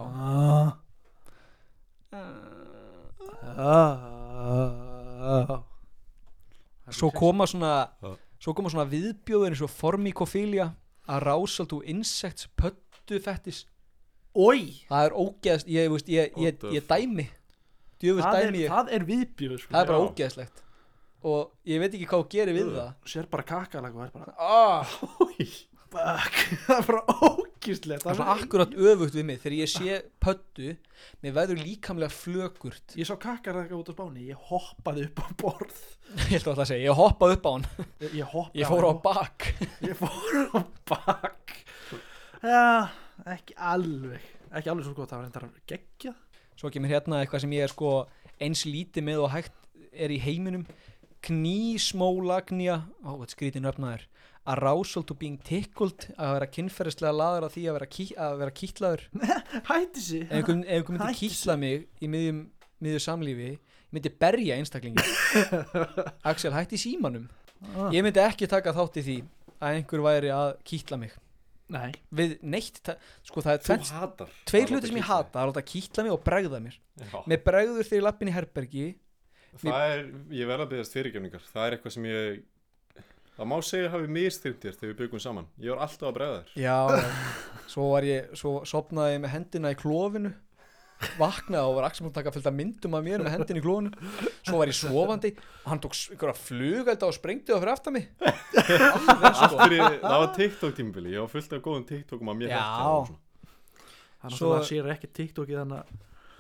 Speaker 4: svo koma svona viðbjóður eins og formikofília arousal to insects pöttu fettis
Speaker 3: Oi,
Speaker 4: það er ógeðst ég dæmi djöfust dæmi ég
Speaker 3: það er viðbjöð sko.
Speaker 4: það er bara
Speaker 2: Já.
Speaker 4: ógeðslegt og ég veit ekki hvað þú gerir við það
Speaker 3: Sér bara kakalag og er bara
Speaker 2: Ói.
Speaker 3: Fuck, það er bara ógíslegt
Speaker 4: það er svona akkurat öfugt við mig þegar ég sé pöttu mér verður líkamlega flökurt
Speaker 3: Ég sá kakalag út á Spáni, ég hoppaði upp á borð
Speaker 4: ég ætla að segja, ég hoppaði upp á hann
Speaker 3: Ég hoppaði
Speaker 4: ég fór á bak
Speaker 3: Ég fór á bak Já, ekki alveg svo gott, það var endar geggjað
Speaker 4: svo kemur hérna eitthvað sem ég er sko eins lítið með og hægt er í heiminum knísmólagnia þetta skrítin öfnaður arousal to being tickled að vera kynferðislega laður á því að vera kýtlaður
Speaker 3: Hætti sig
Speaker 4: ef einhver myndi
Speaker 3: Hættu
Speaker 4: kýtla mig í miðju samlífi ég myndi berja einstaklingi Axel hætti símanum ég myndi ekki taka þátt í því að einhver væri að kýtla mig
Speaker 3: Nei
Speaker 4: við neitt sko það
Speaker 2: Þú
Speaker 4: er
Speaker 2: hatar
Speaker 4: tveir hlutir sem ég hata það er að láta kýtla mig og bregða mér
Speaker 2: Já.
Speaker 4: mér bregður þegar ég lappin í herbergi
Speaker 2: Það er, ég verð að beðast fyrirgefningar. Það er eitthvað sem það má segja hafi mistyrmt þér þegar við byggum saman. Ég var alltaf að bregða þér.
Speaker 4: já svo sopnaði ég með hendina í klofinu vaknaði og var Axel múin að taka fullt af myndum af mér með hendina í klofinu svo var ég sofandi og hann tók einhverja flugelda og sprengdi það fyrir aftan mig
Speaker 2: Allt fyrir, það var TikTok tímabili. Ég var fullt af góðum TikTokum að mér
Speaker 4: Já.
Speaker 2: hætti og svona.
Speaker 3: Þannig
Speaker 4: Svo-
Speaker 3: að það sér ekki TikTokið þannig að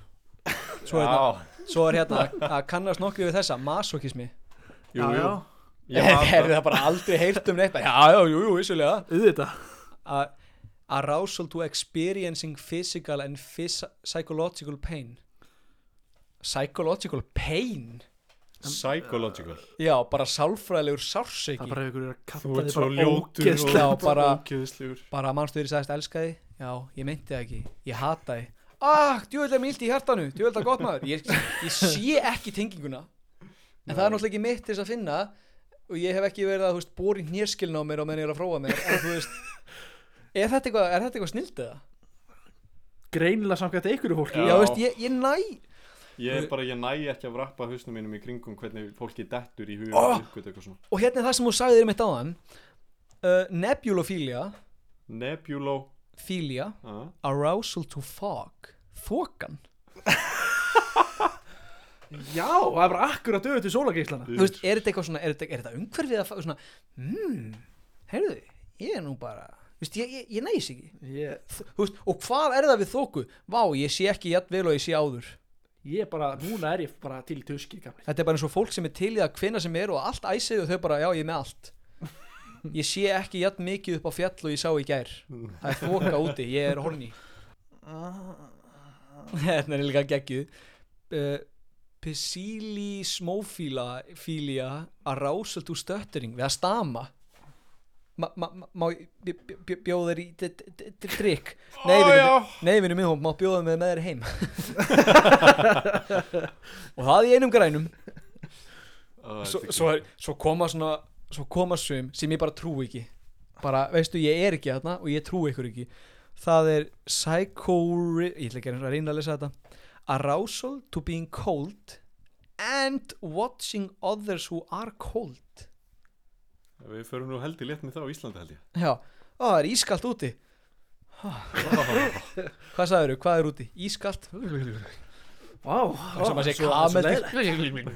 Speaker 4: svo er hérna að kannast nokkuð við þessa masokismi
Speaker 2: Jú,
Speaker 3: Já,
Speaker 2: jú.
Speaker 3: já.
Speaker 2: Ég hata-
Speaker 4: hefði það bara aldrei heyrt um neitt já, vissulega
Speaker 3: Auðvitað
Speaker 4: arousal to experiencing physical and psychological pain
Speaker 2: Psychological.
Speaker 4: já, bara sálfræðilegur
Speaker 3: Það
Speaker 4: sársauki
Speaker 3: er bara ef ykkur er að
Speaker 2: Þú
Speaker 3: kalla
Speaker 2: ert
Speaker 3: þig
Speaker 2: svo
Speaker 3: bara
Speaker 2: ljótur
Speaker 3: ógeðslega
Speaker 4: Já, bara-
Speaker 2: ógeðslegur.
Speaker 4: bara mannstu þegar ég sagðist elska þig já, ég meinti það ekki, ég hata þig djúvöld er mér illt í hjartanu, djúvöld er gott maður ég sé ekki tenginguna en það er náttúrulega ekki mitt til þess að finna og ég hef ekki verið að bóri hnérskilna á mér og menn ég er að fróa mér en þú veist er þetta eitthvað snilt eða?
Speaker 3: Greinilega samkvæmt einhverju fólki
Speaker 2: Já.
Speaker 4: já, veist, ég næ
Speaker 2: Ég næ ekki að vrappa hausnum mínum í kringum hvernig fólki dettur í huga eitthvað svona.
Speaker 4: og hérna er það sem þú sagðir mitt áðan nebulophilia philia arousal to fog þokan
Speaker 3: Já, það er bara akkurat döðu til sólageislana
Speaker 4: þú veist, er þetta eitthvað svona er þetta umhverfið að svona heyrðu, ég er nú bara þú veist, ég næs ekki þú veist, og hvað er það við þoku? Vá, ég sé ekki jafn vel og ég sé áður
Speaker 3: Núna er ég bara til tuskir gamli
Speaker 4: þetta er bara eins og fólk sem er til í það hvenna sem er og allt æsið og þau bara, já, ég er með allt ég sé ekki jafn mikið upp á fjall og ég sá í gær það er þoka úti, ég er horny þetta er líka geggjuð Psilismophilia arousal to stuttering við að stama má bjóða þér í drikk nei vinnu minn, má bjóða með þér heim og það í einum grænum svo koma sum sem ég bara trú ekki bara, veistu, ég er ekki þarna og ég trú ykkur ekki það er ég ætla ekki að reyna að lesa þetta arousal to being cold and watching others who are cold
Speaker 2: Við förum nú heldur létt með það á Íslandi held ég.
Speaker 4: já, það er ískalt úti hvað sagðirðu, hvað er úti? Ískalt
Speaker 3: Vá,
Speaker 4: sem að segja kameldir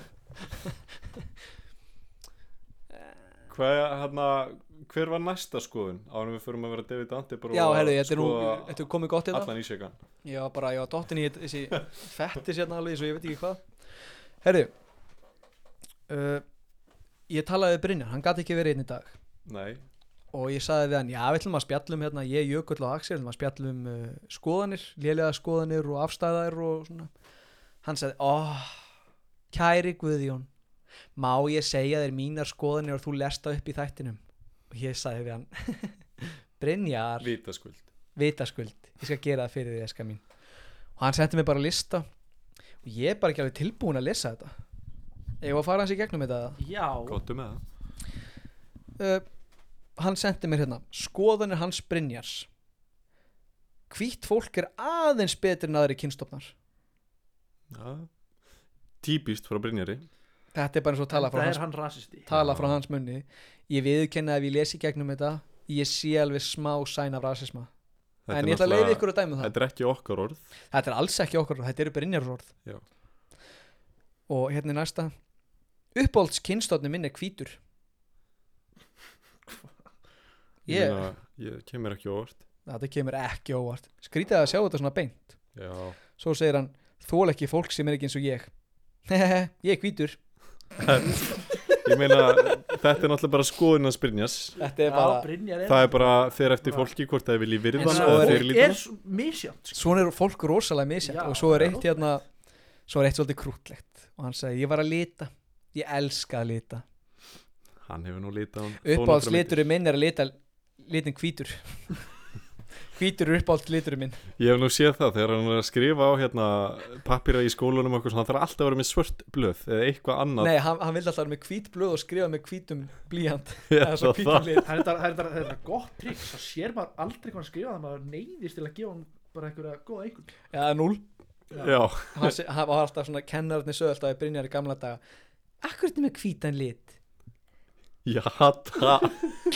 Speaker 2: Hver var næsta skoðun ánum við förum að vera David Attenborough
Speaker 4: já, herðu,
Speaker 2: og
Speaker 4: þetta er komið gott hérna
Speaker 2: allan ísjakan?
Speaker 4: já, bara, ég var dottin í þessi fettis hérna alveg, svo ég veit ekki hvað herðu ég talaði við Brynjar, hann gat ekki verið einn í dag
Speaker 2: Nei,
Speaker 4: og ég sagði við hann, já, við ætlum að spjallum hérna, ég, Jökull og Axel, við ætlum að spjallum skoðanir, lélega skoðanir og afstæðar og svona. Hann sagði, kæri Guðjón, má ég segja þér mínar skoðanir og þú lest það upp í þættinum? Og ég sagði við hann, Brynjar, vitaskuld, ég skal gera það fyrir því, eska mín. Og hann sendi mig bara lista og ég er bara ekki alveg tilbúin að lesa þetta. Ég var að fara hans í gegnum þetta.
Speaker 3: Já.
Speaker 2: Gottu með það.
Speaker 4: Hann sendi mér hérna, skoðanir hans Brynjars. Hvítt fólk er aðeins betur en aðri kynstofnar.
Speaker 2: Já, típist frá Brynjari.
Speaker 4: Þetta er bara eins og tala frá,
Speaker 3: hann rasisti.
Speaker 4: Tala frá hans munni. Ég viðurkenni að ef ég lesi gegnum þetta, ég sé alveg smá sæn af rasisma. En ég ætla að leiða ykkur að dæma það.
Speaker 2: Þetta er ekki okkar orð.
Speaker 4: Þetta er alls ekki okkar orð, þetta eru Brynjars orð.
Speaker 2: Já.
Speaker 4: Og hérna er næsta. Uppáhalds kynstofni minn er hvítur.
Speaker 2: Ég kemur ekki óvart.
Speaker 4: Þetta kemur ekki óvart. Skrítið að sjá þetta svona beint.
Speaker 2: Já.
Speaker 4: Svo segir hann, þól ekki fólk sem er ekki eins og ég. Ég er hvítur.
Speaker 2: Ég meina, þetta er náttúrulega bara skoðun að Brynjars.
Speaker 4: Þetta er bara,
Speaker 2: það er bara fyrir eftir fólki hvort það vilji virða
Speaker 4: En
Speaker 2: eða fyrirlíta.
Speaker 3: er misjant.
Speaker 4: svona er fólk rosalega misjætt.
Speaker 3: Já,
Speaker 4: Og svo er eitt hérna, svo er eitt svolítið krútlegt. Og hann segi, ég var að lita. Ég elska að lita.
Speaker 2: Hann hefur nú litað hann.
Speaker 4: Uppáhalds liturinn minn er að lita litin hvítur. Hvítur er uppáhalds liturinn minn.
Speaker 2: Ég hef nú séð það þegar hann er að skrifa á hérna pappíra í skólanum og eitthvað, hann þarf alltaf að vera með svört blöð eða eitthvað annað.
Speaker 4: Nei, hann vildi alltaf vera með hvít blöð og skrifa með hvítum blýant.
Speaker 2: Já,
Speaker 4: Eða svo hvítum lit.
Speaker 3: Það er gott trikk. Það sér maður aldrei hvað hann skrifa. Það maður neyðist til að gefa hann bara einhverja góða einhvern.
Speaker 4: Já, 0.
Speaker 2: Já.
Speaker 4: Hann var alltaf svona, kennararnir sögðu alltaf í Brynjar í gamla daga. Akkur er þetta með hvítan lit?
Speaker 2: Já, það.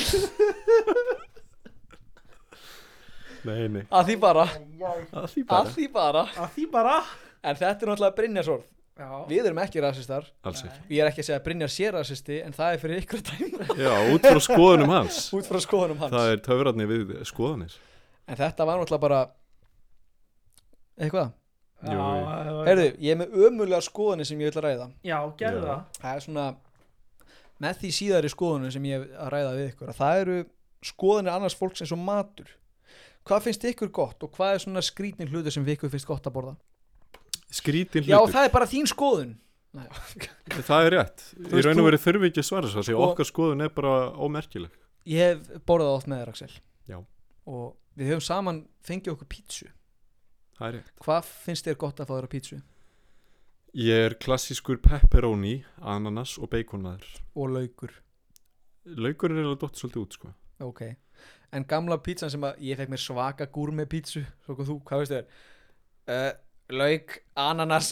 Speaker 2: Nei.
Speaker 4: Að því bara.
Speaker 2: Að því bara.
Speaker 4: En þetta er náttúrulega Brynjars orð.
Speaker 3: Já.
Speaker 4: Við erum ekki rasistar.
Speaker 2: Alls ekki.
Speaker 4: Ég er ekki að segja að Brynjar sé rasisti, en það er fyrir ykkur að dæma.
Speaker 2: Já, út frá skoðunum hans.
Speaker 4: Út frá skoðunum hans.
Speaker 2: Það er töfratni við skoðanir.
Speaker 4: En þetta var náttúrulega bara eitthvað.
Speaker 2: Jú.
Speaker 4: Heyrðu, ég er með ömurlega skoðunni sem ég vil að ræða.
Speaker 3: Já, gerðu
Speaker 2: Já.
Speaker 3: það.
Speaker 4: Það er svona með því síðari skoðunni sem ég hef að ræða við ykkur, að það eru skoðunir annars fólks eins og matur. Hvað finnst ykkur gott og hvað er svona skrýtnin hlutur sem ykkur finnst gott að borða?
Speaker 2: Skrítin
Speaker 4: Já,
Speaker 2: hlutur.
Speaker 4: það er bara þín skoðun.
Speaker 2: Það er rétt. Í
Speaker 4: veist,
Speaker 2: raun og veru þurfi ekki að svara svo, því
Speaker 4: Sko-
Speaker 2: okkar skoðun er bara ómerkileg.
Speaker 4: Ég hef borðað oft með þér, Axel.
Speaker 2: Já.
Speaker 4: Og við höfum saman fengið okkur pítsu.
Speaker 2: Það er rétt.
Speaker 4: Hvað finnst þér gott að fá þér á pítsu?
Speaker 2: Ég er klassískur pepperoni, ananas og baconmaður.
Speaker 4: Og laukur.
Speaker 2: Laukur er eiginlega dott svolítið út, sko.
Speaker 4: Ok. En gamla pítsan sem að ég fekk mér svaka gúrme pítsu. Svo kom þú, hvað veist þér? Lauk, ananas.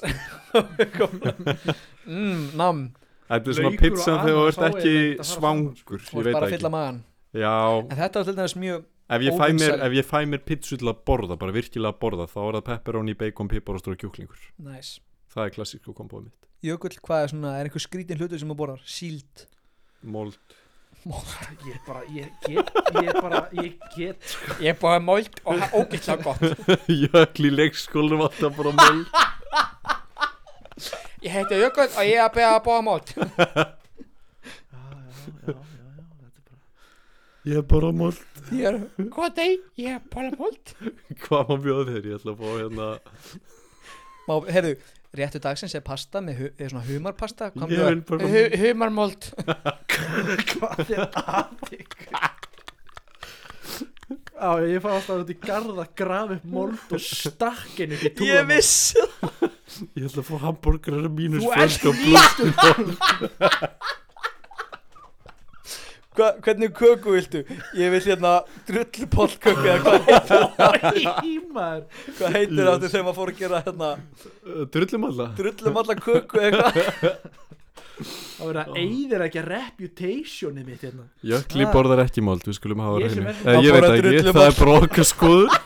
Speaker 4: Nam.
Speaker 2: Þetta er svona
Speaker 3: Laukur og
Speaker 2: pizza þegar þú
Speaker 3: ananas,
Speaker 2: ert
Speaker 3: þá er
Speaker 2: ekki
Speaker 3: þetta að fara
Speaker 2: svangur.
Speaker 4: Þú
Speaker 2: Ég
Speaker 4: ert
Speaker 2: veit
Speaker 4: bara að
Speaker 2: ekki.
Speaker 4: fylla magan.
Speaker 2: Já.
Speaker 4: En þetta var til dæmis mjög
Speaker 2: Ef
Speaker 4: óvinsæl.
Speaker 2: ég fæ mér pizzu til að borða, bara virkilega að borða, þá er það pepperoni, bacon, pipar og stóra kjúklingur.
Speaker 4: Nice.
Speaker 2: Það er klassísku kombóið mitt.
Speaker 4: Jökull, hvað er svona, er einhver skrítin hlutur sem þú borðar? Síld.
Speaker 2: Mold.
Speaker 3: Ég get
Speaker 4: Ég borða mold og það er ógeðslega gott.
Speaker 2: Jökl í leikskólanum alltaf bara mold.
Speaker 4: Ég heiti Jökull og ég er að beða að borða mold.
Speaker 3: Já, þetta er bara
Speaker 2: Ég er bara mold.
Speaker 4: Ég er, góð deg, ég er bara mold.
Speaker 2: Hvað má bjóða þér? Ég ætla að fá hérna.
Speaker 4: Heyrðu, réttu dagsins er pasta er svona humarpasta.
Speaker 2: Ég vil bara
Speaker 4: Humarmold.
Speaker 3: Hvað er aðeins? Já, ég fá alltaf út í garð að grafa upp mold og stakkinu upp í túnum.
Speaker 4: Ég vissi það.
Speaker 2: Ég ætla að fá hambúrgarar mínus
Speaker 3: Þú
Speaker 2: franska
Speaker 3: ert
Speaker 2: blóð.
Speaker 4: Hvernig köku viltu? Ég vil hérna drullupollköku eða hvað heitir það?
Speaker 3: Ímar.
Speaker 4: Hvað heitir það þegar maður fór að gera hérna
Speaker 2: Drullumalla.
Speaker 4: drullumalla köku eða hvað?
Speaker 3: Það verður að eyðir ekki reputationið mitt hérna.
Speaker 2: Jökli borðar ekki mold, við skulum hafa
Speaker 3: Ég sem
Speaker 2: reynu.
Speaker 3: er-
Speaker 2: Ég
Speaker 4: Hann
Speaker 2: veit
Speaker 4: borðar
Speaker 2: ekki,
Speaker 4: drullumold.
Speaker 2: það er bara okkar skoður.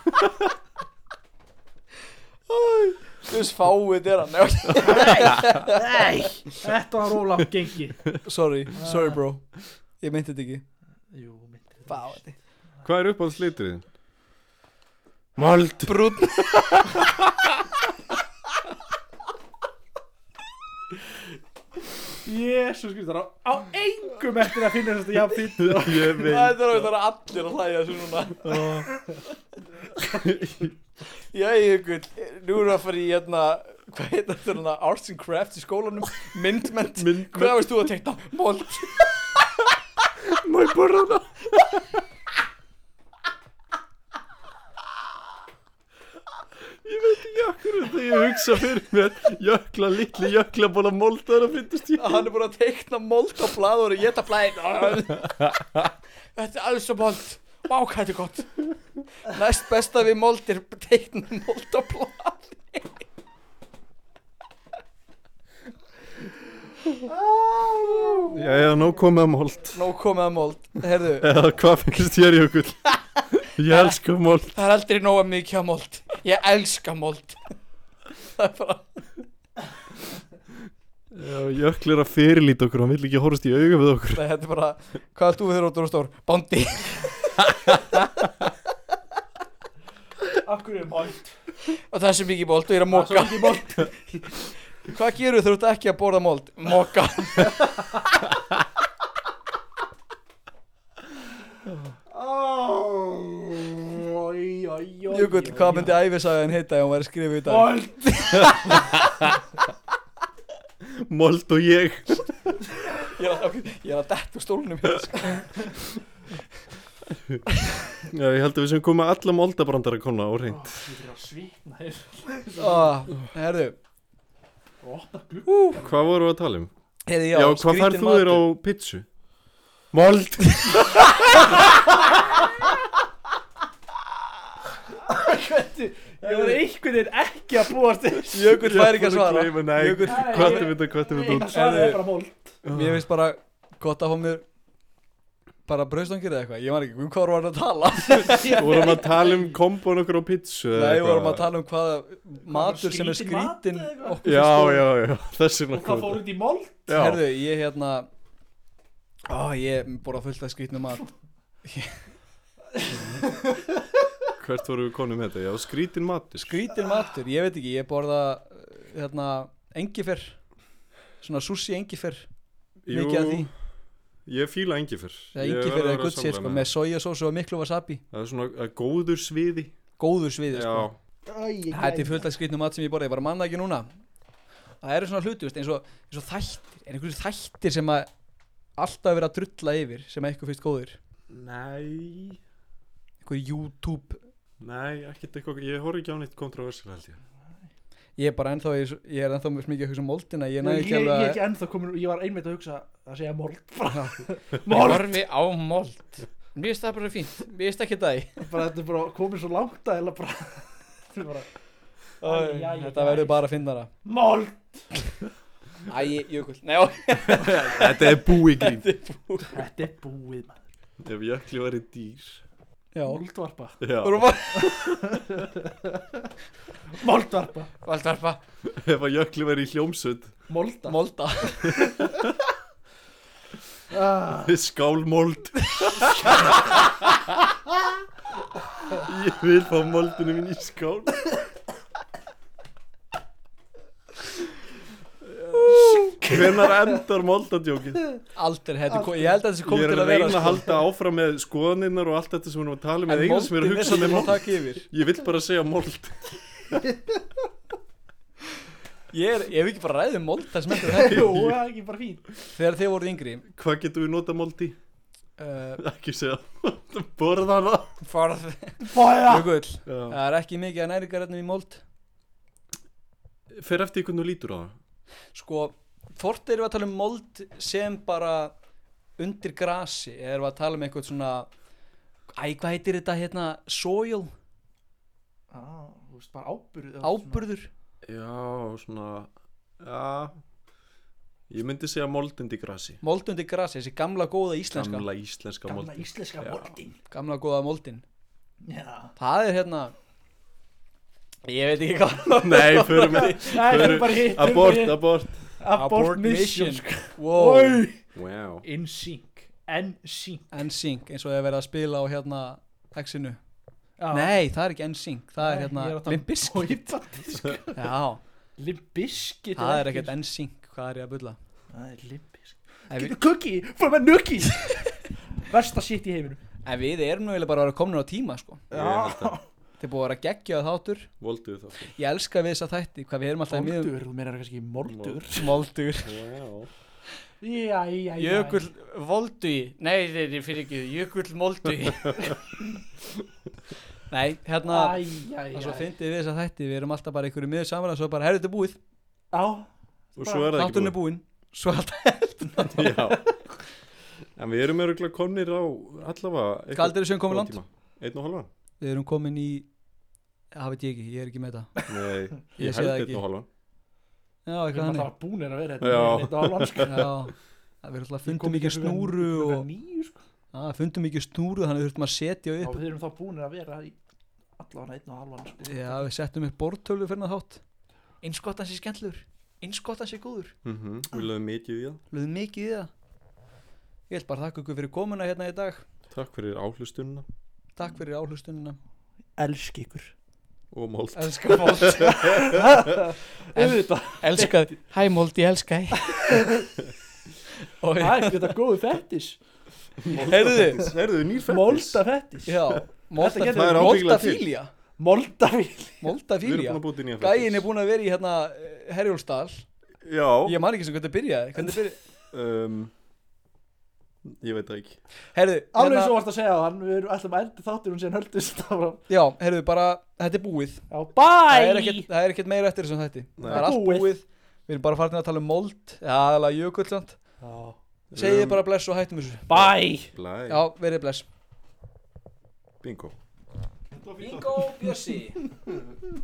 Speaker 4: Þú veist fáið er hann.
Speaker 3: Nei, þetta var ólátt gengi.
Speaker 4: Sorry bro. Ég meinti þetta ekki.
Speaker 3: Jú, myndi þetta.
Speaker 4: Fáið.
Speaker 2: Hvað er uppáhalds liturinn? Mold.
Speaker 4: Brún.
Speaker 3: Jésus Kristur, á engum eftir að finna þess að ég finn
Speaker 2: Ég veit
Speaker 4: Það er allir að hlæja þessu núna. Jæja, ykkur, nú erum við að fara í hvað heitir þetta, Arts and Crafts í skólanum, myndmennt. Hvað veist þú að teikna? Mold.
Speaker 2: Má ég borða það? Ég veit ekki akkur þegar ég hugsa fyrir mér litli jöklabola mold það er að fyndast ég
Speaker 4: Hann er búin að teikna mold á blað og geta blæðin. Þetta er alls og mold. Vá, hvað þetta er gott. Næst besta við mold er teikna mold á blað.
Speaker 2: Jæja, nóg komið að mold
Speaker 4: Nú komið að mold. Herðu,
Speaker 2: Eða hvað finnst þér Jökull? Ég elska mold
Speaker 4: það er aldrei nóga mikið af mold. Ég elska mold. Það er bara...
Speaker 2: Já, Jökull er að fyrirlíta okkur hann vill ekki horfast í auga við okkur
Speaker 4: Þetta er bara, hvað er þú þegar þú er stór? Bóndi.
Speaker 3: Akkur er mold
Speaker 4: Og það er sem mikið mold og ég er að moka. Hvað gerur þú ert ekki að borða mold? Moka. Jökull, hvað myndi ævisagan heita ef hún væri skrifið í dag?
Speaker 2: Mold og ég
Speaker 4: Ég er að detta úr stólnum hér, sko.
Speaker 2: Já, ég held að við sem komum að alla moldabrandara kona og reynd
Speaker 3: Ég er að svitna hér
Speaker 4: Herðu,
Speaker 2: Hvað vorum við að tala um?
Speaker 4: Heiði,
Speaker 2: Já, hvað
Speaker 4: skrítinn
Speaker 2: færð þú
Speaker 4: matur.
Speaker 2: þér á pizzu? Mold
Speaker 3: Ég var einhvern veginn ekki að búast þess
Speaker 4: Jökull fær ekki að svara.
Speaker 2: Nei,
Speaker 4: Jökull-
Speaker 2: hvað er þetta út?
Speaker 3: Það er bara mold
Speaker 4: Mér finnst bara gott að fá mér bara brauðstangir eða eitthvað. Ég var ekki, hvað var að tala?
Speaker 2: Vorum að tala um kombón okkur á pizzu eða
Speaker 4: Nei, við
Speaker 2: eitthvað?
Speaker 4: vorum að tala um hvaða matur sem er
Speaker 3: skrítinn mat
Speaker 4: skrítinn
Speaker 3: eða eitthvað?
Speaker 4: okkur
Speaker 2: Já,
Speaker 4: finnst
Speaker 2: já, já, þessi
Speaker 3: Og hvað fór út í mold?
Speaker 2: Já,
Speaker 4: Herðu, ég ég borða fullt af skrítnum mat.
Speaker 2: hvert vorum við konum þetta? Já, skrítin matur
Speaker 4: Skrítinn matur, ég veit ekki, ég borða engifer. Svona sushi engifer. Mikið af því.
Speaker 2: Ég fíla engifer
Speaker 4: Engifer er gutt sér, sko, með sojasósu og miklu wasabi.
Speaker 2: Það er svona góður sviði
Speaker 4: Góður sviði, sko.
Speaker 2: Já,
Speaker 4: Þetta er fullt af skrítnum mat sem ég borða, ég bara manna ekki núna. Það eru svona hluti, veist, eins og þættir. Er einhverju þættir sem að alltaf verið að drulla yfir, sem að eitthvað finnst góður?
Speaker 2: nei
Speaker 4: Einhver YouTube.
Speaker 2: Nei, ekkert eitthvað, ég horf ekki á neitt kontroversið held ég
Speaker 4: Ég er bara ennþá, ég er ennþá mikið að hugsa um moldina. Ég
Speaker 3: Ég
Speaker 4: næði
Speaker 3: er
Speaker 4: ekki alveg
Speaker 3: ekki ennþá komin Ég var einmitt að hugsa að segja mold
Speaker 4: Ég horfi á mold. Mér finnst það bara fínt. Mér finnst ekki það í.
Speaker 3: Bara þetta er bara komið svo langt að eða bara Þetta er bara
Speaker 4: Þetta verður bara að finna það.
Speaker 3: mold
Speaker 4: Æ, Jökull. Nei, já.
Speaker 2: Þetta er búi grín
Speaker 3: Þetta er búið maður
Speaker 2: Ef jökli væri dýr
Speaker 4: Já.
Speaker 3: Moldvarpa
Speaker 2: Já,
Speaker 4: Þú erum bara
Speaker 3: Moldvarpa
Speaker 4: Valdvarpa.
Speaker 2: ef að jökli væri í hljómsveit
Speaker 3: Molda
Speaker 4: Molda.
Speaker 2: Skálmold Ég vil fá moldinu mín í skál Hvenær endar moldadjókið?
Speaker 4: Aldrei, ég held að þessi kom
Speaker 2: Ég
Speaker 4: til
Speaker 2: er
Speaker 4: að
Speaker 2: að
Speaker 4: vera
Speaker 2: reyna að halda áfram með skoðaninnar og allt þetta sem við erum að tala um
Speaker 4: En
Speaker 2: eða eina sem við erum að
Speaker 4: moldin er
Speaker 2: hugsa
Speaker 4: sem
Speaker 2: með
Speaker 4: að
Speaker 2: mold
Speaker 4: taka yfir.
Speaker 2: Ég vill bara segja mold
Speaker 4: Ég hef ekki bara ræðið mold það sem eftir þetta.
Speaker 3: Jú, það er ekki bara fín
Speaker 4: Þegar þið voruð yngri
Speaker 2: Hvað getum við notað mold í?
Speaker 4: uh,
Speaker 2: Ekki segja Borða hana
Speaker 4: Farð
Speaker 3: Bója
Speaker 4: Jökull.
Speaker 2: Já.
Speaker 4: Það er ekki mikið að næringarefnum í mold.
Speaker 2: Fer eftir hvernig þú lítur á það
Speaker 4: Sko, hvort erum við að tala um mold sem bara undir grasi, eða erum við að tala um eitthvað svona hvað heitir þetta hérna, soil,
Speaker 3: Þú veist bara áburður
Speaker 4: áburður.
Speaker 2: Já, svona Já Ég myndi segja mold undir grasi
Speaker 4: Mold undir grasi, þessi gamla góða íslenska.
Speaker 2: Gamla íslenska
Speaker 3: Gamla
Speaker 2: mold
Speaker 3: íslenska
Speaker 2: Já.
Speaker 3: moldin
Speaker 4: Gamla góða moldin.
Speaker 3: Já
Speaker 4: Það er hérna, ég veit ekki hvað.
Speaker 2: Nei, förum við
Speaker 3: Nei, það er bara hitt
Speaker 2: Abort
Speaker 3: Abort mission
Speaker 4: Wow.
Speaker 3: Oi.
Speaker 2: Wow
Speaker 3: In sync NSYNC
Speaker 4: NSYNC, eins og ég hef verið að spila á hérna X-inu.
Speaker 3: Já.
Speaker 4: Nei, það er ekki NSYNC, það er
Speaker 3: Nei,
Speaker 4: hérna
Speaker 3: ég er að tala um
Speaker 4: Limp Bizkit.
Speaker 3: boyband, sko.
Speaker 4: Já,
Speaker 3: Limp Bizkit
Speaker 4: það er ekkert NSYNC. hvað er ég að bulla?
Speaker 3: Það er limpisk
Speaker 4: En við,
Speaker 3: Cookie, for my nookie Versta shit í heiminum
Speaker 4: en við erum nú eiginlega bara að vera komin á tíma sko.
Speaker 2: Ég held að
Speaker 4: Þið er búið að vera geggjað þáttur.
Speaker 2: volduðu þá
Speaker 4: Ég elska við þess að þætti, hvað við erum alltaf í miðjum.
Speaker 3: Moldur, þú meina kannski moldur
Speaker 4: Moldur.
Speaker 3: Já
Speaker 4: Jökull Volduí. Nei, þeir fyrir ekki, Jökull Molduí. Nei, hérna, það svo fyndið við þess að þætti, við erum alltaf bara einhverju miður saman og svo bara, herru, þetta er búið.
Speaker 3: Já
Speaker 2: Og svo er það ekki
Speaker 4: Þátturinn er búinn. Svo alltaf.
Speaker 2: Já. En við erum öruglega komnir á allavega
Speaker 4: Hvað aldur er sem komið langt?
Speaker 2: 1,5.
Speaker 4: Við erum komin í, það veit ég ekki, ég er ekki með þetta.
Speaker 2: Nei,
Speaker 4: Ég
Speaker 2: ég
Speaker 4: sé það
Speaker 2: held
Speaker 4: ekki.
Speaker 2: 1,5.
Speaker 4: Já,
Speaker 3: Við
Speaker 4: eitthvað
Speaker 3: erum
Speaker 4: hannig.
Speaker 3: alltaf búnir að vera
Speaker 2: Já.
Speaker 3: Þetta var lansk
Speaker 4: Já, það við alltaf fundum ekki snúru og
Speaker 3: Nýju sko
Speaker 4: fundum ekki snúru þannig við þurftum að setja
Speaker 3: Já,
Speaker 4: upp.
Speaker 3: við erum þá búnir að vera í allavega 1,5 sko
Speaker 4: Já, við settum upp bortölu fyrir það þátt. Eins gott hans er skemmtlur, eins gott hans er góður.
Speaker 2: Við lögum mikið í það.
Speaker 4: Lögðum mikið í það. Ég vil bara þakka ykkur fyrir komuna hérna í dag.
Speaker 2: Takk fyrir áhlustunina
Speaker 4: Takk fyrir áhlustunina.
Speaker 3: Elsk ykkur
Speaker 2: og mold.
Speaker 4: Elska Mold.
Speaker 3: Auðvitað
Speaker 4: Elska, hæ Mold, ég elska þig.
Speaker 3: Það er ekki þetta góðu fettis
Speaker 4: Heyrðu,
Speaker 2: nýr fettis.
Speaker 3: Molda fettis
Speaker 4: já,
Speaker 3: Þetta getur-
Speaker 2: Það er ábyggilega til.
Speaker 4: Moldafílía.
Speaker 3: Moldafíl
Speaker 2: Við erum
Speaker 4: Moldafílía.
Speaker 2: búin að búti nýja
Speaker 4: Gæin er búin að vera í hérna Herjólfsdal.
Speaker 2: Já.
Speaker 4: Ég man ekki sem hvernig byrjaði. Hvernig byrjaði?
Speaker 2: Ég veit það ekki.
Speaker 4: Heyrðu,
Speaker 3: Alveg svo varst að segja hann Við erum alltaf að enda þáttir hún síðan höldust
Speaker 4: já, heyrðu, bara, þetta er búið.
Speaker 3: Já, bye
Speaker 4: Það er ekkert meira eftir þessum þætti.
Speaker 2: Nei.
Speaker 4: Það er allt
Speaker 3: Búið.
Speaker 4: búið. Við erum bara farin að tala um mold. Já, aðalega jökull samt.
Speaker 3: Já.
Speaker 4: Segið bara bless og hættum þessu.
Speaker 3: Bye
Speaker 2: Blæ.
Speaker 4: Já, verið bless.
Speaker 2: Bingo.
Speaker 4: Bingo Bjössi.